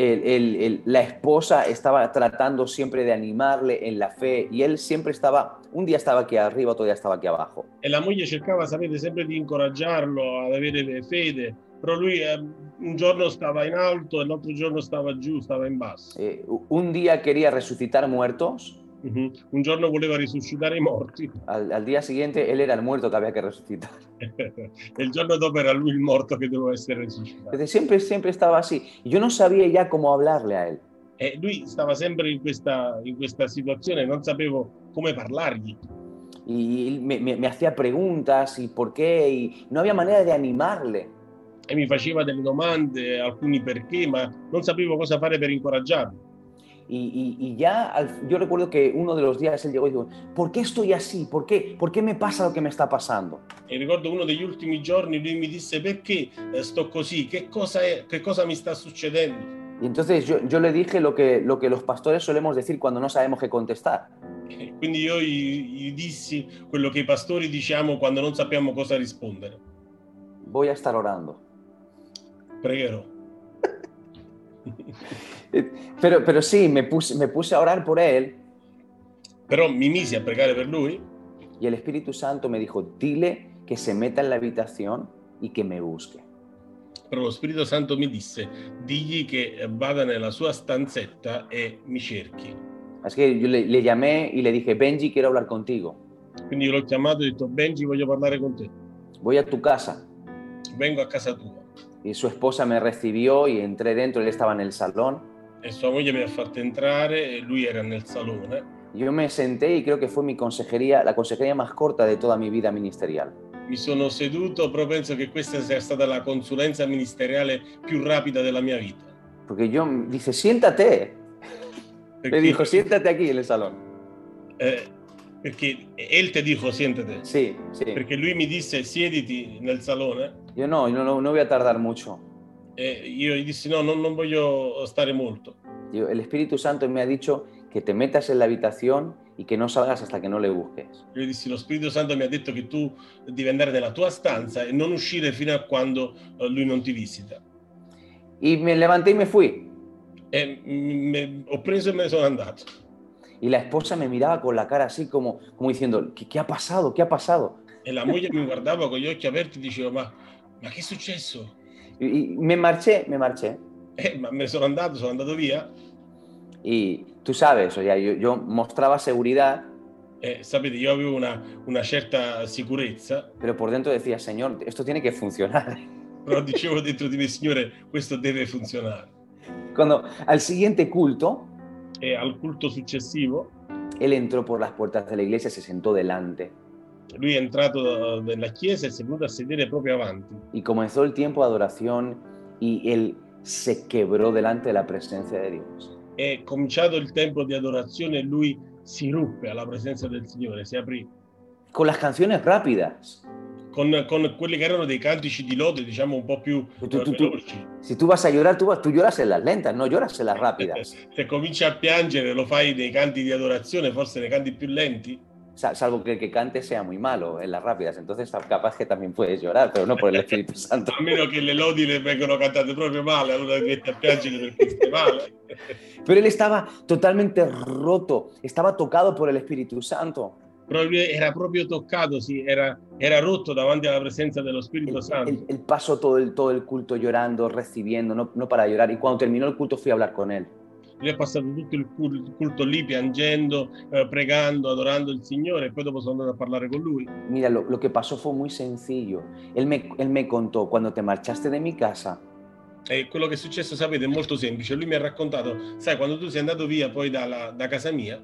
La esposa estaba tratando siempre de animarle en la fe y él siempre un día estaba aquí arriba, otro día estaba aquí abajo. E la moglie cercava, sapete, sempre di incoraggiarlo ad avere fede, però lui un giorno stava in alto e l'altro giorno stava giù, stava in basso. Un día quería resucitar muertos. Un giorno voleva risuscitare i morti. Al día siguiente él era el muerto que había que resucitar. E il giorno dopo era lui il morto che doveva essere risuscitato. Entonces siempre estaba así. Y yo no sabía ya cómo hablarle a él. E lui stava sempre in questa situazione, non sapevo come parlargli. Y me hacía preguntas y por qué, y no había manera de animarle. E mi faceva delle domande, alcuni perché, ma non sapevo cosa fare per incoraggiarlo. Y ya yo recuerdo que uno de los días él llegó y dijo, ¿por qué estoy así? ¿Por qué me pasa lo que me está pasando? E ricordo uno degli ultimi giorni lui mi disse: perché sto così? Che cosa mi sta succedendo? Y entonces yo le dije lo que los pastores solemos decir cuando no sabemos qué contestar. E quindi io gli dissi quello che i pastori diciamo quando non sappiamo cosa rispondere. Voy a estar orando. Pregherò. Pero sí, me puse a orar por él. Però mi misi a pregare per lui. Y el Espíritu Santo me dijo, dile que se meta en la habitación y que me busque. Però lo Spirito Santo mi disse: digli che vada nella sua stanzetta e mi cerchi. Así que yo le llamé y le dije, Benji, quiero hablar contigo. Quindi io l'ho chiamato e ho detto: Benji, voglio parlare con te. Voy a tu casa. Vengo a casa tua. Y su esposa me recibió y entré dentro, él estaba en el salón. E sua moglie mi ha fatto entrare e lui era nel salone. Yo me senté y creo que fue mi consejería, la consejería más corta de toda mi vida ministerial. Mi sono seduto, però penso che questa sia stata la consulenza ministeriale più rapida della mia vita. Porque yo, dice, siéntate. Le Perché, dijo, siéntate aquí en el salón. perché él te dijo siéntate. Sí, sí. Perché lui mi disse siediti nel salone. Yo no voy a tardar mucho. E io gli dissi no, non voglio stare molto. El Espíritu Santo me ha dicho que te metas en la habitación y que no salgas hasta que no le busques. Io gli dissi lo Spirito Santo mi ha detto che tu devi andare nella tua stanza e non uscire fino a quando lui non ti visita. Y me levanté y me fui. E ho preso e me ne sono andato. Y la esposa me miraba con la cara así como diciendo, ¿qué ha pasado? ¿Qué ha pasado? E la moglie mi guardava con gli occhi aperti e diceva ma che è successo? Y me marché. Ma me ne sono andato via. Y tú sabes, o sea, yo mostraba seguridad, Sapete, io avevo una certa sicurezza, pero por dentro decía, Señor, esto tiene que funcionar. però dicevo dentro di me, Signore, questo deve funzionare. Cuando al siguiente culto, E al culto successivo, él entró por las puertas de la iglesia y se sentó delante. lui è entrato nella chiesa e si è venuto a sedere proprio avanti. Y comenzó el tiempo de adoración y él se quebró delante de la presencia de Dios. È cominciato il tempo di adorazione e lui si ruppe alla presenza del Signore, si aprì. Con las canciones rápidas. Con quelli che erano dei cantici di lode, diciamo un po' più veloci. Si tú vas a llorar, tú lloras en las lentas, no lloras en las rápidas. Se cominci a piangere lo fai nei canti di adorazione, forse nei canti più lenti. Salvo que el que cante sea muy malo en las rápidas, entonces capaz que también puedes llorar, pero no por el Espíritu Santo. A meno che le lodi le vengono cantate proprio male, allora ti metti a piangere perché stai male. Pero él estaba totalmente roto, estaba tocado por el Espíritu Santo. Però lui era proprio toccato, sì, era rotto davanti alla presenza dello Spirito Santo. Él pasó todo el culto llorando, recibiendo, no para llorar. Y cuando terminó el culto fui a hablar con él. Lui è passato tutto il culto lì piangendo, pregando, adorando il Signore, e poi dopo sono andato a parlare con lui. Mira, lo que pasó fue muy sencillo. Él me contó, cuando te marchaste de mi casa, E quello che è successo, sapete, è molto semplice. Lui mi ha raccontato, sai, quando tu sei andato via poi da casa mia,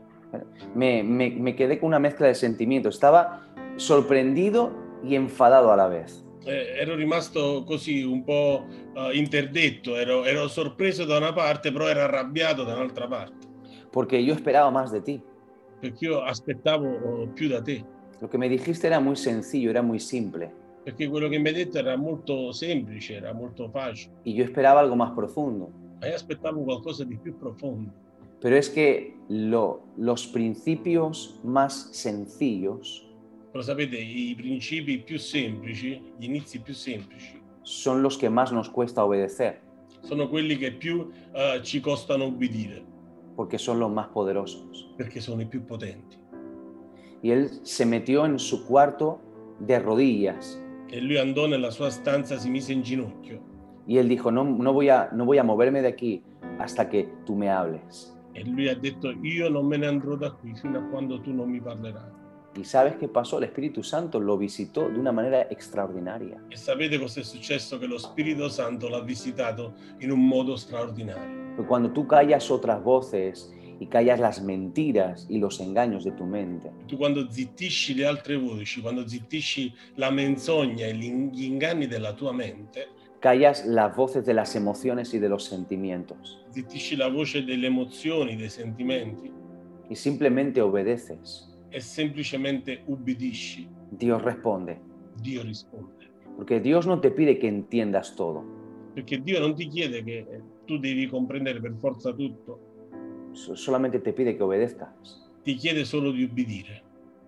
me quedé con una mezcla de sentimientos. Estaba sorprendido y enfadado a la vez. ero rimasto così un po' interdetto, ero sorpreso da una parte, però ero arrabbiato da un'altra parte. Porque yo esperaba más de ti. Perché io aspettavo più da te. Lo que me dijiste era muy sencillo, era muy simple. Perché quello che mi hai detto era molto semplice, era molto facile. Y yo esperaba algo más profundo. Ma io aspettavo qualcosa di più profondo. Pero es que los principios más sencillos Però sapete, i principi più semplici, gli inizi più semplici, son los que más nos cuesta obedecer, sono quelli che più ci costano obbedire, porque son los más poderosos. perché sono i più potenti. Y él se metió en su cuarto de rodillas E lui andò nella sua stanza, si mise in ginocchio y él dijo, no voy a moverme de aquí hasta que tú me hables. e lui ha detto io non me ne andrò da qui fino a quando tu non mi parlerai. ¿Y sabes qué pasó? El Espíritu Santo lo visitó de una manera extraordinaria. E sapete cosa è successo? Che lo Spirito Santo l'ha visitato in un modo straordinario. Porque cuando tú callas otras voces y callas las mentiras y los engaños de tu mente, Tu quando zittisci le altre voci, quando zittisci la menzogna e gli inganni della tua mente, callas las voces de las emociones y de los sentimientos zittisci la voce delle emozioni, dei sentimenti y simplemente obedeces, e semplicemente ubbidisci, Dios responde. Dio risponde. Porque Dios no te pide que entiendas todo, Perché Dio non ti chiede che tu devi comprendere per forza tutto, solamente te pide que obedezcas. ti chiede solo di ubbidire,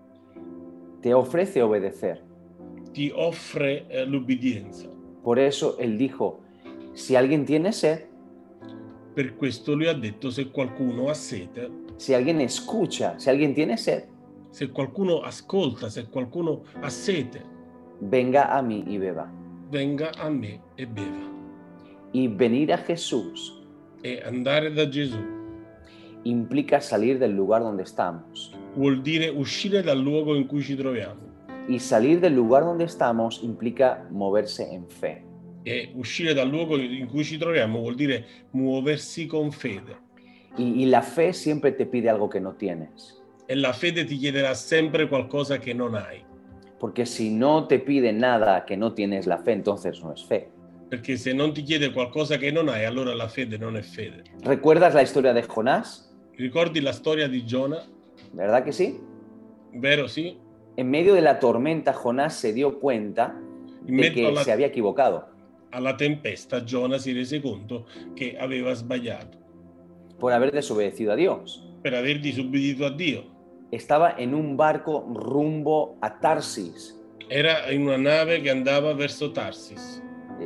Te ofrece obedecer. ti offre l'ubbidienza. Por eso Él dijo, si alguien tiene sed, Per questo lui ha detto se qualcuno ha sete, si alguien escucha, si alguien tiene sed, se qualcuno ascolta, se qualcuno ha sete, venga a mí y beba. venga a me e beva. Y venir a Jesús E andare da Gesù implica salir del lugar donde estamos. vuol dire uscire dal luogo in cui ci troviamo. Y salir del lugar donde estamos implica moverse en fe. E uscire dal luogo in cui ci troviamo vuol dire muoversi con fede. Y la fe siempre te pide algo que no tienes. e la fede ti chiederà sempre qualcosa che non hai. Porque si no te pide nada que no tienes la fe, entonces no es fe. Perché se non ti chiede qualcosa che non hai, allora la fede non è fede. ¿Recuerdas la historia de Jonás? Ricordi la storia di Giona? ¿Verdad que sí? Vero, sì? En medio de la tormenta, Jonás se dio cuenta In de mezzo que se había equivocado alla tempesta, Giona si rese conto che aveva sbagliato por haber desobedecido a Dios. per aver disubbidito a Dio. Estaba en un barco rumbo a Tarsis, Era in una nave che andava verso Tarsis,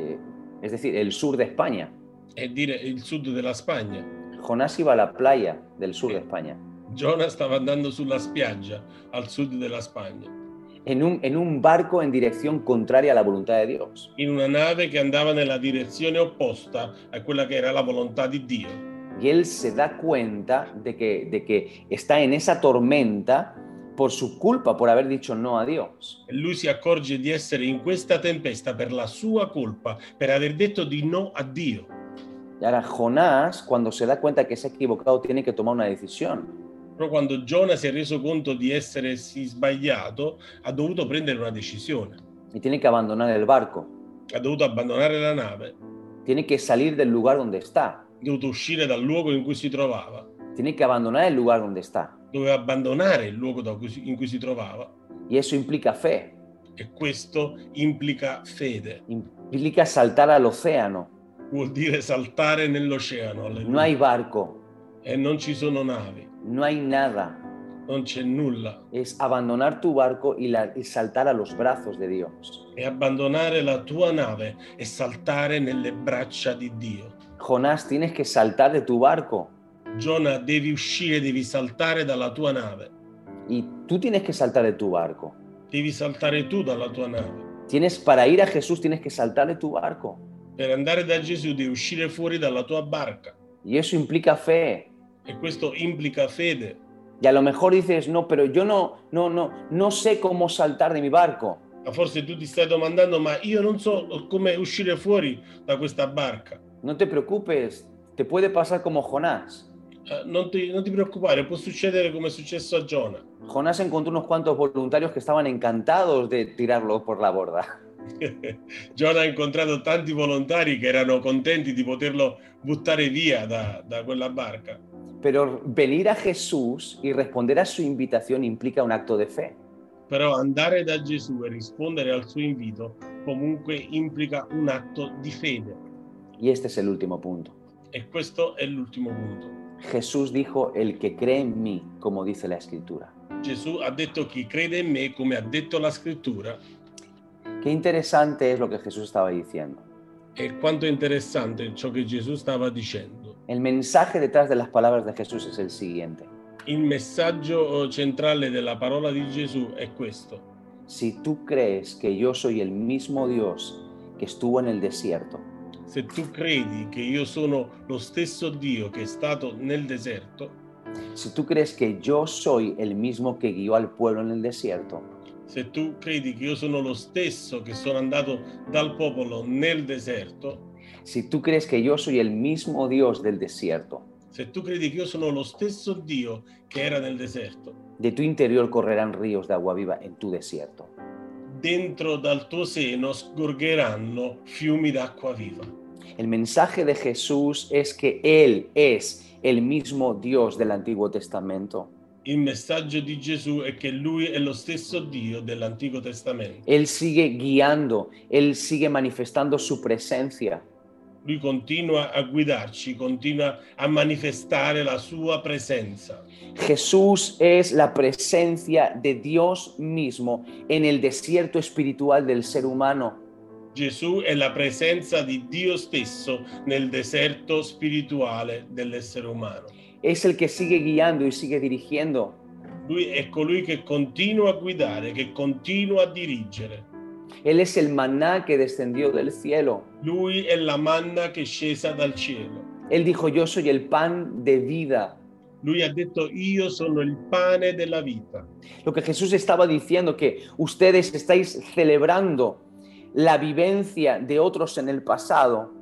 es decir, el sur de España. è dire il sud della Spagna. Jonás iba a la playa del sur de España, Giona stava andando sulla spiaggia al sud della Spagna, en un barco en dirección contraria a la voluntad de Dios. in una nave che andava nella direzione opposta a quella che era la volontà di Dio. Y él se da cuenta de que está en esa tormenta por su culpa, por haber dicho no a Dios. E lui si accorge di essere in questa tempesta per la sua colpa, per aver detto di no a Dio. Y ahora Jonás, cuando se da cuenta que se ha equivocado, tiene que tomar una decisión. Però quando Giona si è reso conto di essersi sbagliato, ha dovuto prendere una decisione. Y tiene que abandonar el barco. Ha dovuto abbandonare la nave, Tiene que salir del lugar donde está. ha dovuto uscire dal luogo in cui si trovava, Tiene que abandonar el lugar donde está. doveva abbandonare il luogo in cui si trovava. Y eso implica fe. E questo implica fede, Implica saltar al océano. vuol dire saltare nell'oceano. Alleluia. No hay barco. E non ci sono navi, No hay nada. non c'è nulla. Es abandonar tu barco y saltar a los brazos de Dios. E abbandonare la tua nave e saltare nelle braccia di Dio. Jonás, tienes que saltar de tu barco. Giona, devi uscire, devi saltare dalla tua nave. Y tú tienes que saltar de tu barco. Devi saltare tu dalla tua nave. Para ir a Jesús tienes que saltar de tu barco. Per andare da Gesù devi uscire fuori dalla tua barca. Y eso implica fe. E questo implica fede. Y a lo mejor dices, no, pero yo no sé cómo saltar de mi barco. Ma forse tu ti stai domandando, ma io non so come uscire fuori da questa barca. No te preocupes, te puede pasar como Jonás. Non ti preoccupare, può succedere come è successo a Giona. Jonás encontró unos cuantos voluntarios que estaban encantados de tirarlo por la borda. Giona ha incontrato tanti volontari che erano contenti di poterlo buttare via da quella barca. Pero venir a Jesús y responder a su invitación implica un acto de fe. Però andare da Gesù e rispondere al suo invito comunque implica un atto di fede. Y este es el último punto. E questo è l'ultimo punto. Jesús dijo, el que cree en mí, como dice la Escritura. Gesù ha detto chi crede in me, come ha detto la scrittura. Qué interesante es lo que Jesús estaba diciendo. E quanto è interessante ciò che Gesù stava dicendo. El mensaje detrás de las palabras de Jesús es el siguiente. Il messaggio centrale della parola di Gesù è questo. Si tú crees que yo soy el mismo Dios que estuvo en el desierto, Se tu credi che io sono lo stesso Dio che è stato nel deserto, si tú crees que yo soy el mismo que guió al pueblo en el desierto, se tu credi che io sono lo stesso che sono andato dal popolo nel deserto, si tú crees que yo soy el mismo Dios del desierto, se tu credi che io sono lo stesso Dio che era nel deserto, de tu interior correrán ríos de agua viva en tu desierto. dentro dal tuo seno sgorgeranno fiumi d'acqua viva. El mensaje de Jesús es que Él es el mismo Dios del Antiguo Testamento. Il messaggio di Gesù è che Lui è lo stesso Dio dell'Antico Testamento. Él sigue guiando, Él sigue manifestando su presencia. Lui continua a guidarci, continua a manifestare la sua presenza. Jesús es la presencia de Dios mismo en el desierto espiritual del ser humano. Gesù è la presenza di Dio stesso nel deserto spirituale dell'essere umano. Es el que sigue guiando y sigue dirigiendo. Lui è colui che continua a guidare, che continua a dirigere. Él es el maná que descendió del cielo. Lui è la manna che è scesa dal cielo. Él dijo, yo soy el pan de vida. Lui ha detto, io sono il pane della vita. Lo que Jesús estaba diciendo, que ustedes estáis celebrando la vivencia de otros en el pasado.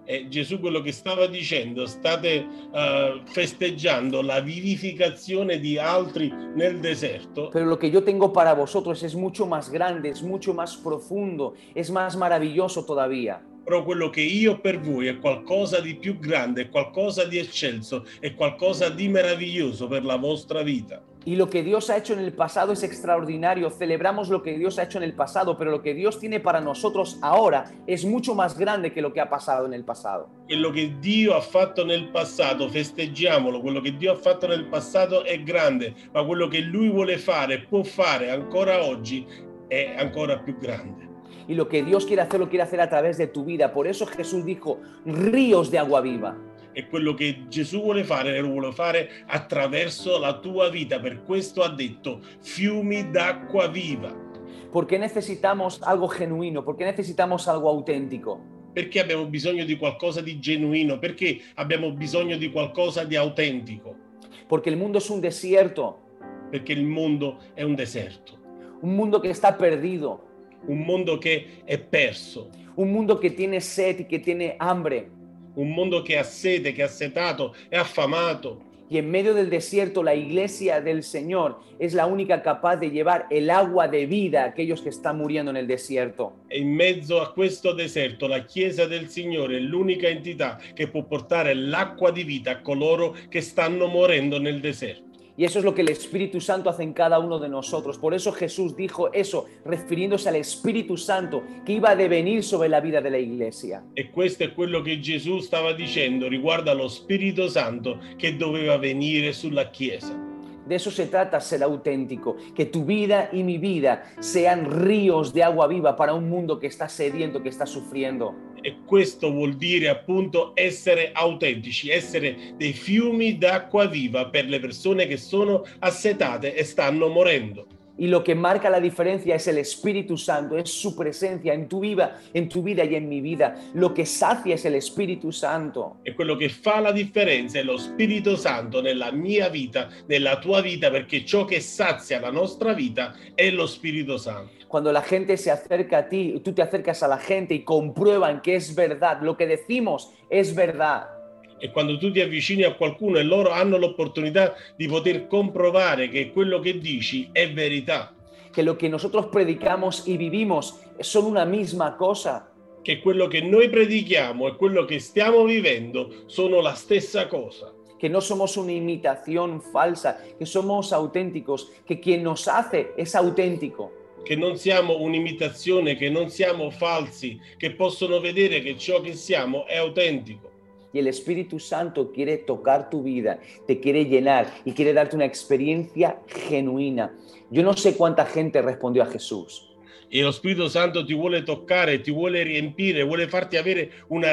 E Gesù quello che stava dicendo, state festeggiando la vivificazione di altri nel deserto, Pero lo que yo tengo para vosotros es mucho más grande, es mucho más profundo, es más maravilloso todavía. però quello che io ho per voi è qualcosa di più grande, è qualcosa di eccelso, è qualcosa di meraviglioso per la vostra vita. Y lo que Dios ha hecho en el pasado es extraordinario. Celebramos lo que Dios ha hecho en el pasado, pero lo que Dios tiene para nosotros ahora es mucho más grande que lo que ha pasado en el pasado. Quello che Dio ha fatto nel passato, festeggiamolo, quello che Dio ha fatto nel passato è grande, ma quello che Lui vuole fare, può fare ancora oggi, è ancora più grande. Y lo que Dios quiere hacer, lo quiere hacer a través de tu vida. Por eso Jesús dijo, ríos de agua viva. E quello che Gesù vuole fare, lo vuole fare attraverso la tua vita. Per questo ha detto fiumi d'acqua viva. ¿Por qué necesitamos algo genuino? ¿Por qué necesitamos algo auténtico? Perché abbiamo bisogno di qualcosa di genuino? Perché abbiamo bisogno di qualcosa di autentico? Porque el mundo es un desierto, Perché il mondo è un deserto, un mundo que está perdido, un mondo che è perso, un mundo que tiene sed y que tiene hambre. un mondo che ha sete, che è assetato, è affamato. Y en medio del desierto, la iglesia del Señor es la única capaz de llevar el agua de vida a aquellos que están muriendo en el desierto. E in mezzo a questo deserto la Chiesa del Signore è l'unica entità che può portare l'acqua di vita a coloro che stanno morendo nel deserto. Y eso es lo que el Espíritu Santo hace en cada uno de nosotros. Por eso Jesús dijo eso, refiriéndose al Espíritu Santo que iba a devenir sobre la vida de la iglesia. E questo è quello che Gesù stava dicendo riguardo allo Spirito Santo che doveva venire sulla Chiesa. De eso se trata, ser auténtico, que tu vida y mi vida sean ríos de agua viva para un mundo que está sediento, que está sufriendo. E questo vuol dire appunto essere autentici, essere dei fiumi d'acqua viva per le persone che sono assetate e stanno morendo. Y lo que marca la diferencia es el Espíritu Santo, es su presencia en tu vida y en mi vida. Lo que sacia es el Espíritu Santo. E quello che fa la differenza è lo Spirito Santo nella mia vita, nella tua vita, perché ciò che sazia la nostra vita è lo Spirito Santo. Cuando la gente se acerca a ti, tú te acercas a la gente y comprueban que es verdad, lo que decimos es verdad. E quando tu ti avvicini a qualcuno e loro hanno l'opportunità di poter comprovare che quello che dici è verità, Que lo que nosotros predicamos y vivimos son una misma cosa. che quello che noi predichiamo e quello che stiamo vivendo sono la stessa cosa, Que no somos una imitación falsa, que somos auténticos, que quien nos hace es auténtico. che non siamo un'imitazione, che non siamo falsi, che possono vedere che ciò che siamo è autentico. Y el Espíritu Santo quiere tocar tu vida, te quiere llenar y quiere darte una experiencia genuina. Yo no sé cuánta gente respondió a Jesús. E lo Spirito Santo ti vuole toccare, ti vuole riempire, vuole farti avere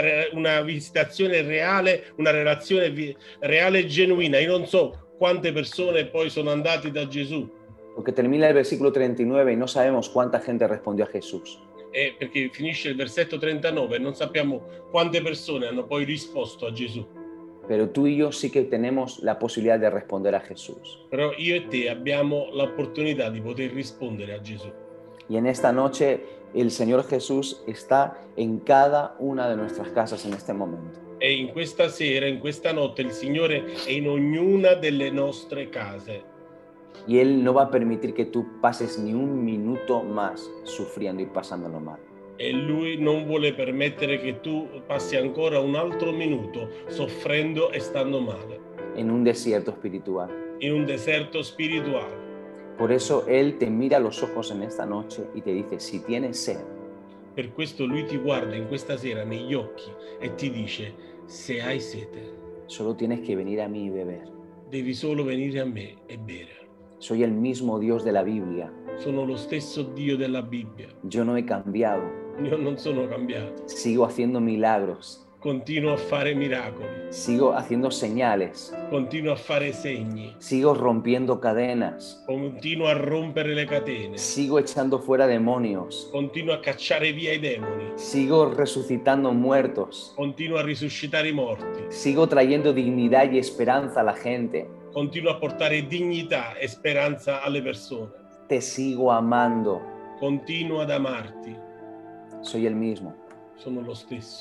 una visitazione reale, una relazione reale e genuina. Io non so quante persone poi sono andati da Gesù. Porque termina el versículo 39 y no sabemos cuánta gente respondió a Jesús. Perché finisce il versetto 39 e non sappiamo quante persone hanno poi risposto a Gesù. Pero tú y yo sí que tenemos la posibilidad de responder a Jesús. Però io e te abbiamo l'opportunità di poter rispondere a Gesù. Y en esta noche el Señor Jesús está en cada una de nuestras casas en este momento. E in questa sera, in questa notte, il Signore è in ognuna delle nostre case. Y Él no va a permitir que tú pases ni un minuto más sufriendo y pasándolo mal. E Lui non vuole permettere che tu passi ancora un altro minuto soffrendo e stando male, En un desierto espiritual. in un deserto spirituale. Por eso Él te mira a los ojos en esta noche y te dice, si tienes sed, Per questo Lui ti guarda in questa sera negli occhi e ti dice: se hai sete, solo tienes que venir a mí y beber. devi solo venire a me e bere. Soy el mismo Dios de la Biblia. Sono lo stesso Dio della Bibbia. Yo no he cambiado. Io non sono cambiato. Sigo haciendo milagros. Continuo a fare miracoli. Sigo haciendo señales. Continuo a fare segni. Sigo rompiendo cadenas. Continuo a rompere le catene. Sigo echando fuera demonios. Continuo a cacciare via i demoni. Sigo resucitando muertos. Continuo a risuscitare i morti. Sigo trayendo dignidad y esperanza a la gente. Continuo a portare dignità e speranza alle persone. Te sigo amando. Continuo ad amarti. Soy el mismo. Sono lo stesso.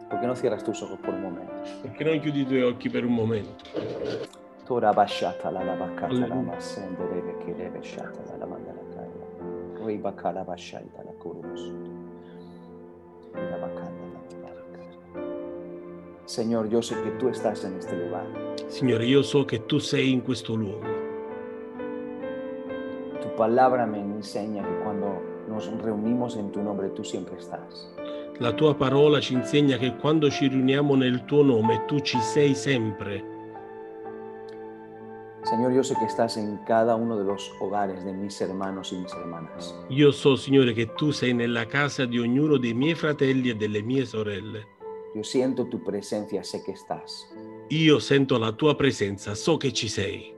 ¿Por qué no cierras tus ojos por un momento? Perché non chiudi i tuoi occhi per un momento? Tora bashata la bakata la Alleluia. masende che deve shata la mandala kaya. Riba kala bashaita la kurus. La bakanda la baraka. Señor, yo sé que tú estás en este lugar. Signore, io so che tu sei in questo luogo. Tu palabra me enseña que cuando nos reunimos en tu nombre, tú siempre estás. La tua parola ci insegna che quando ci riuniamo nel tuo nome, tu ci sei sempre. Señor, yo sé que estás en cada uno de los hogares de mis hermanos y mis hermanas. Io so, Signore, che tu sei nella casa di ognuno dei miei fratelli e delle mie sorelle. Yo siento tu presencia, sé que estás. Io sento la tua presenza, so che ci sei.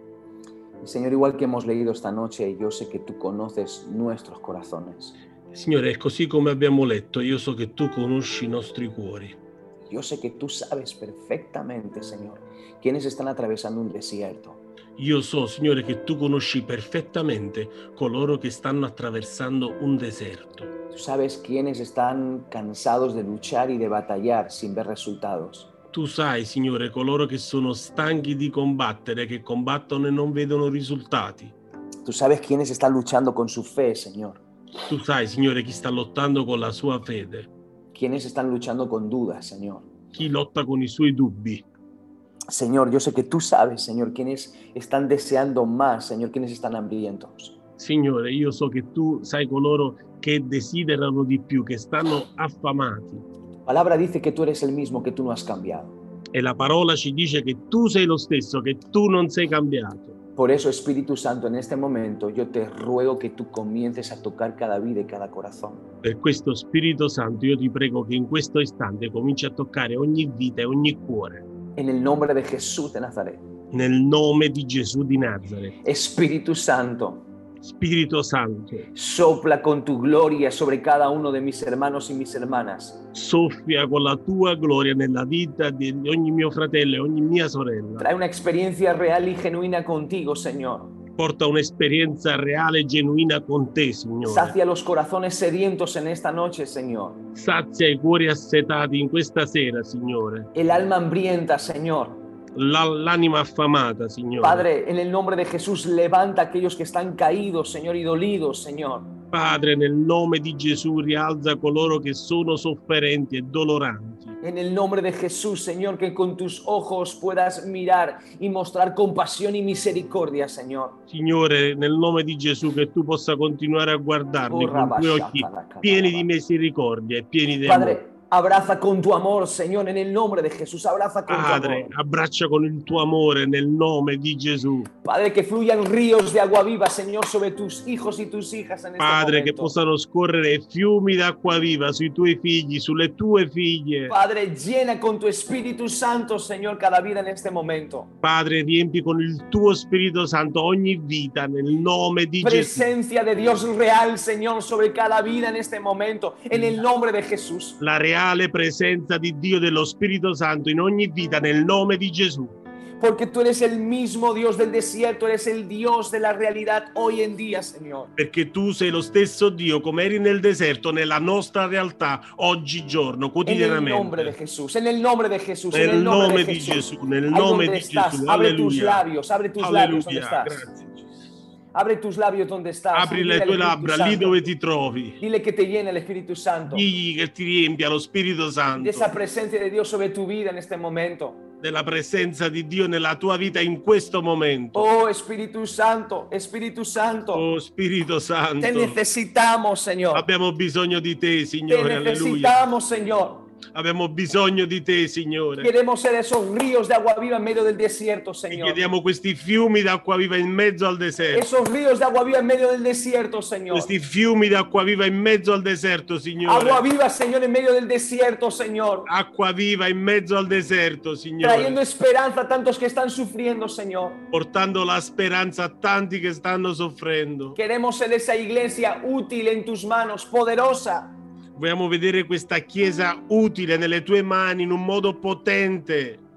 Y Señor, igual que hemos leído esta noche, yo sé que tú conoces nuestros corazones. Signore, è così come abbiamo letto, io so che tu conosci i nostri cuori. Yo sé que tú sabes perfectamente, Señor, quienes están atravesando un desierto. Io so, Signore, che tu conosci perfettamente coloro che stanno attraversando un deserto. Tú sabes quienes están cansados de luchar y de batallar sin ver resultados. Tu sai, Signore, coloro che sono stanchi di combattere, che combattono e non vedono risultati. Tú sabes quienes están luchando con su fe, Señor. Tu sai, Signore, chi sta lottando con la sua fede, Quienes están luchando con dudas, Señor. chi lotta con i suoi dubbi. Señor, yo sé que tú sabes, Señor, quienes están deseando más, Señor, quienes están hambrientos. Signore, io so che tu sai coloro che desiderano di più, che stanno affamati. Tu palabra dice que tú eres el mismo, que tú no has cambiado. E la parola ci dice che tu sei lo stesso, che tu non sei cambiato. Por eso, Espíritu Santo, en este momento yo te ruego que tú comiences a tocar cada vida y cada corazón. Per questo, Spirito Santo, io ti prego che in questo istante cominci a toccare ogni vita e ogni cuore. En el nombre de Jesús de Nazaret. Nel nome di Gesù di Nazareth. Espíritu Santo, Spirito Santo, sopla con tu gloria sobre cada uno de mis hermanos y mis hermanas. soffia con la tua gloria nella vita di ogni mio fratello e ogni mia sorella. Trae una experiencia real y genuina contigo, Señor. Porta un'esperienza reale e genuina con te, Signore. Sacia los corazones sedientos en esta noche, Señor. Sazia i cuori assetati in questa sera, Signore. El alma hambrienta, Señor. L'anima affamata, Signore. Padre, en el nombre de Jesús, levanta a aquellos que están caídos, Señor, y dolidos, Señor. Padre, nel nome di Gesù rialza coloro che sono sofferenti e doloranti. En el nombre de Jesús, Señor, que con tus ojos puedas mirar y mostrar compasión y misericordia, Señor. Signore, nel nome di Gesù, che tu possa continuare a guardarli con i tuoi occhi pieni di misericordia e pieni di amore. Padre, abraza con tu amor, Señor, en el nombre de Jesús. Abraza con tu Padre, amor. abbraccia con il tuo amore nel nome di Gesù. Padre, que fluyan ríos de agua viva, Señor, sobre tus hijos y tus hijas en este Padre, che momento. possano scorrere fiumi d'acqua viva sui tuoi figli, sulle tue figlie. Padre, llena con tu Espíritu Santo, Señor, cada vida en este momento. Padre, riempi con il tuo Spirito Santo ogni vita nel nome di Gesù. Presencia de Dios real, Señor, sobre cada vida en este momento, en el nombre de Jesús. La reale presenza di Dio, dello Spirito Santo in ogni vita nel nome di Gesù. Porque tú eres el mismo Dios del desierto, eres el Dios de la realidad hoy en día, Señor. Perché tu sei lo stesso Dio come eri nel deserto, nella nostra realtà, oggigiorno, En el nombre de quotidianamente. Jesús, en el nombre de Jesús, en Nel el nombre nome de di Jesús. Gesù, nel Ahí nome donde di estás, Gesù. abre tus Alleluia. labios, abre tus labios donde Alleluia. estás. Grazie, Gesù. Abre tus labios donde estás. Apri Dile le al tue Espíritu labbra lì Santo. dove ti trovi. Dile que te llene el Espíritu Santo. Digli che ti riempia lo Spirito De Santo, esa presencia de Dios sobre tu vida en este momento. della presenza di Dio nella tua vita in questo momento. Oh Espíritu Santo, Espíritu Santo. Oh Spirito Te Santo, necesitamos, Señor. abbiamo bisogno di te, Te Signore, alleluia. necesitamos, Señor. Abbiamo bisogno di te, Signore. Queremos ser esos ríos de agua viva en medio del desierto, Ti Señor. chiediamo questi fiumi d'acqua viva in mezzo al deserto. Esos ríos de agua viva en medio del desierto, Señor. Questi fiumi d'acqua viva in mezzo al deserto, Agua Signore. viva, Señor, en medio del desierto, Señor. Acqua viva in mezzo al deserto, Trayendo Signore. esperanza a tantos que están sufriendo, Señor. Portando la speranza a tanti che stanno soffrendo. Queremos ser esa iglesia útil en tus manos, poderosa. Vogliamo vedere questa Chiesa utile nelle tue mani in un modo potente.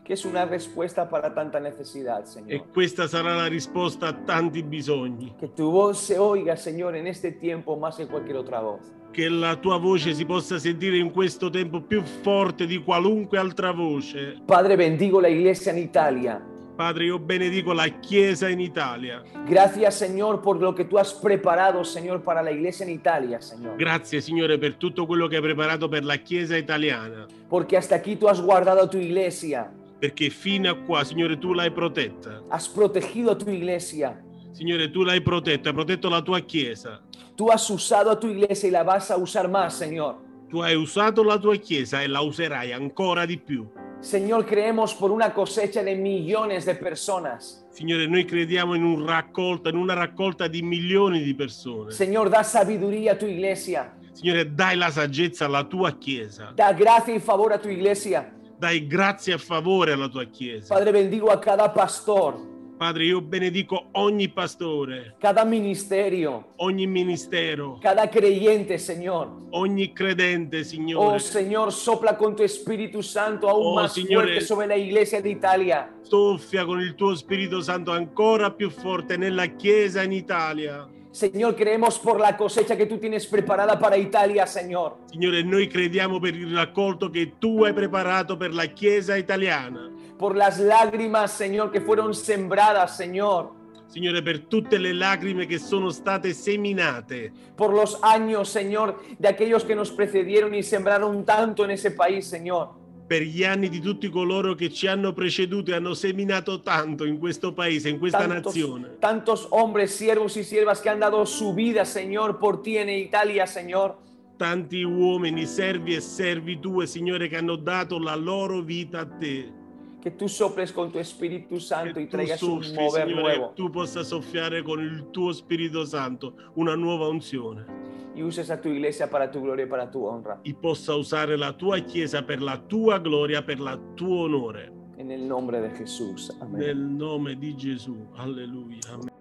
que es una respuesta para tanta necesidad, E Señor. questa sarà la risposta a tanti bisogni. Que tu voz se oiga, Señor, en este tiempo más que cualquier otra voz. Che la tua voce si possa sentire in questo tempo più forte di qualunque altra voce. Padre, bendigo la iglesia en Italia. Padre, io benedico la Chiesa in Italia. Gracias, Señor, por lo que tú has preparado, Señor, para la iglesia en Italia, Señor. Grazie, Signore, per tutto quello che hai preparato per la Chiesa italiana. Porque hasta aquí tú has guardado tu iglesia. Perché fino a qua, Signore, tu l'hai protetta. Has protegido tu iglesia. Signore, tu l'hai protetta, hai protetto la tua Chiesa. Tú has usado a tu iglesia y la vas a usar más, Señor. Tu hai usato la tua Chiesa e la userai ancora di più. Señor, creemos por una cosecha de millones de personas. Signore, noi crediamo in una raccolta di milioni di persone. Señor, da sabiduría a tu iglesia. Signore, dai la saggezza alla tua Chiesa. Da gracia y favor a tu iglesia. Dai grazie a favore alla tua Chiesa. Padre, bendigo a cada pastor, Padre, io benedico ogni pastore, cada ministerio, ogni ministero, cada creyente, Señor. ogni credente, Signore. Oh, Señor, sopla con tu Espíritu Santo aún Oh, más Signore. fuerte sobre la iglesia de Italia. Soffia con il tuo Spirito Santo ancora più forte nella Chiesa in Italia. Señor, creemos por la cosecha que tú tienes preparada para Italia, Señor. Signore, noi crediamo per il raccolto che tu hai preparato per la Chiesa italiana. Por las lágrimas, Señor, que fueron sembradas, Señor. Signore, per tutte le lacrime che sono state seminate, Por los años, Señor, de aquellos que nos precedieron y sembraron tanto en ese país, Señor. per gli anni di tutti coloro che ci hanno preceduto e hanno seminato tanto in questo paese, in questa nazione. Tantos hombres, siervos y siervas que han dado su vida, Señor, por ti en Italia, Señor. Tanti uomini, servi e servi tue, Signore, che hanno dato la loro vita a te. Que tú soples con tu Espíritu Santo y Che tu traigas un soffri, mover Signore, nuevo. che tu possa soffiare con il tuo Spirito Santo una nuova unzione. Y uses a tu iglesia para tu gloria y para tu honra. E possa usare la tua Chiesa per la tua gloria, per il tuo onore. En el nombre de Jesús. Amén. Nel nome di Gesù. Alleluia. Amen.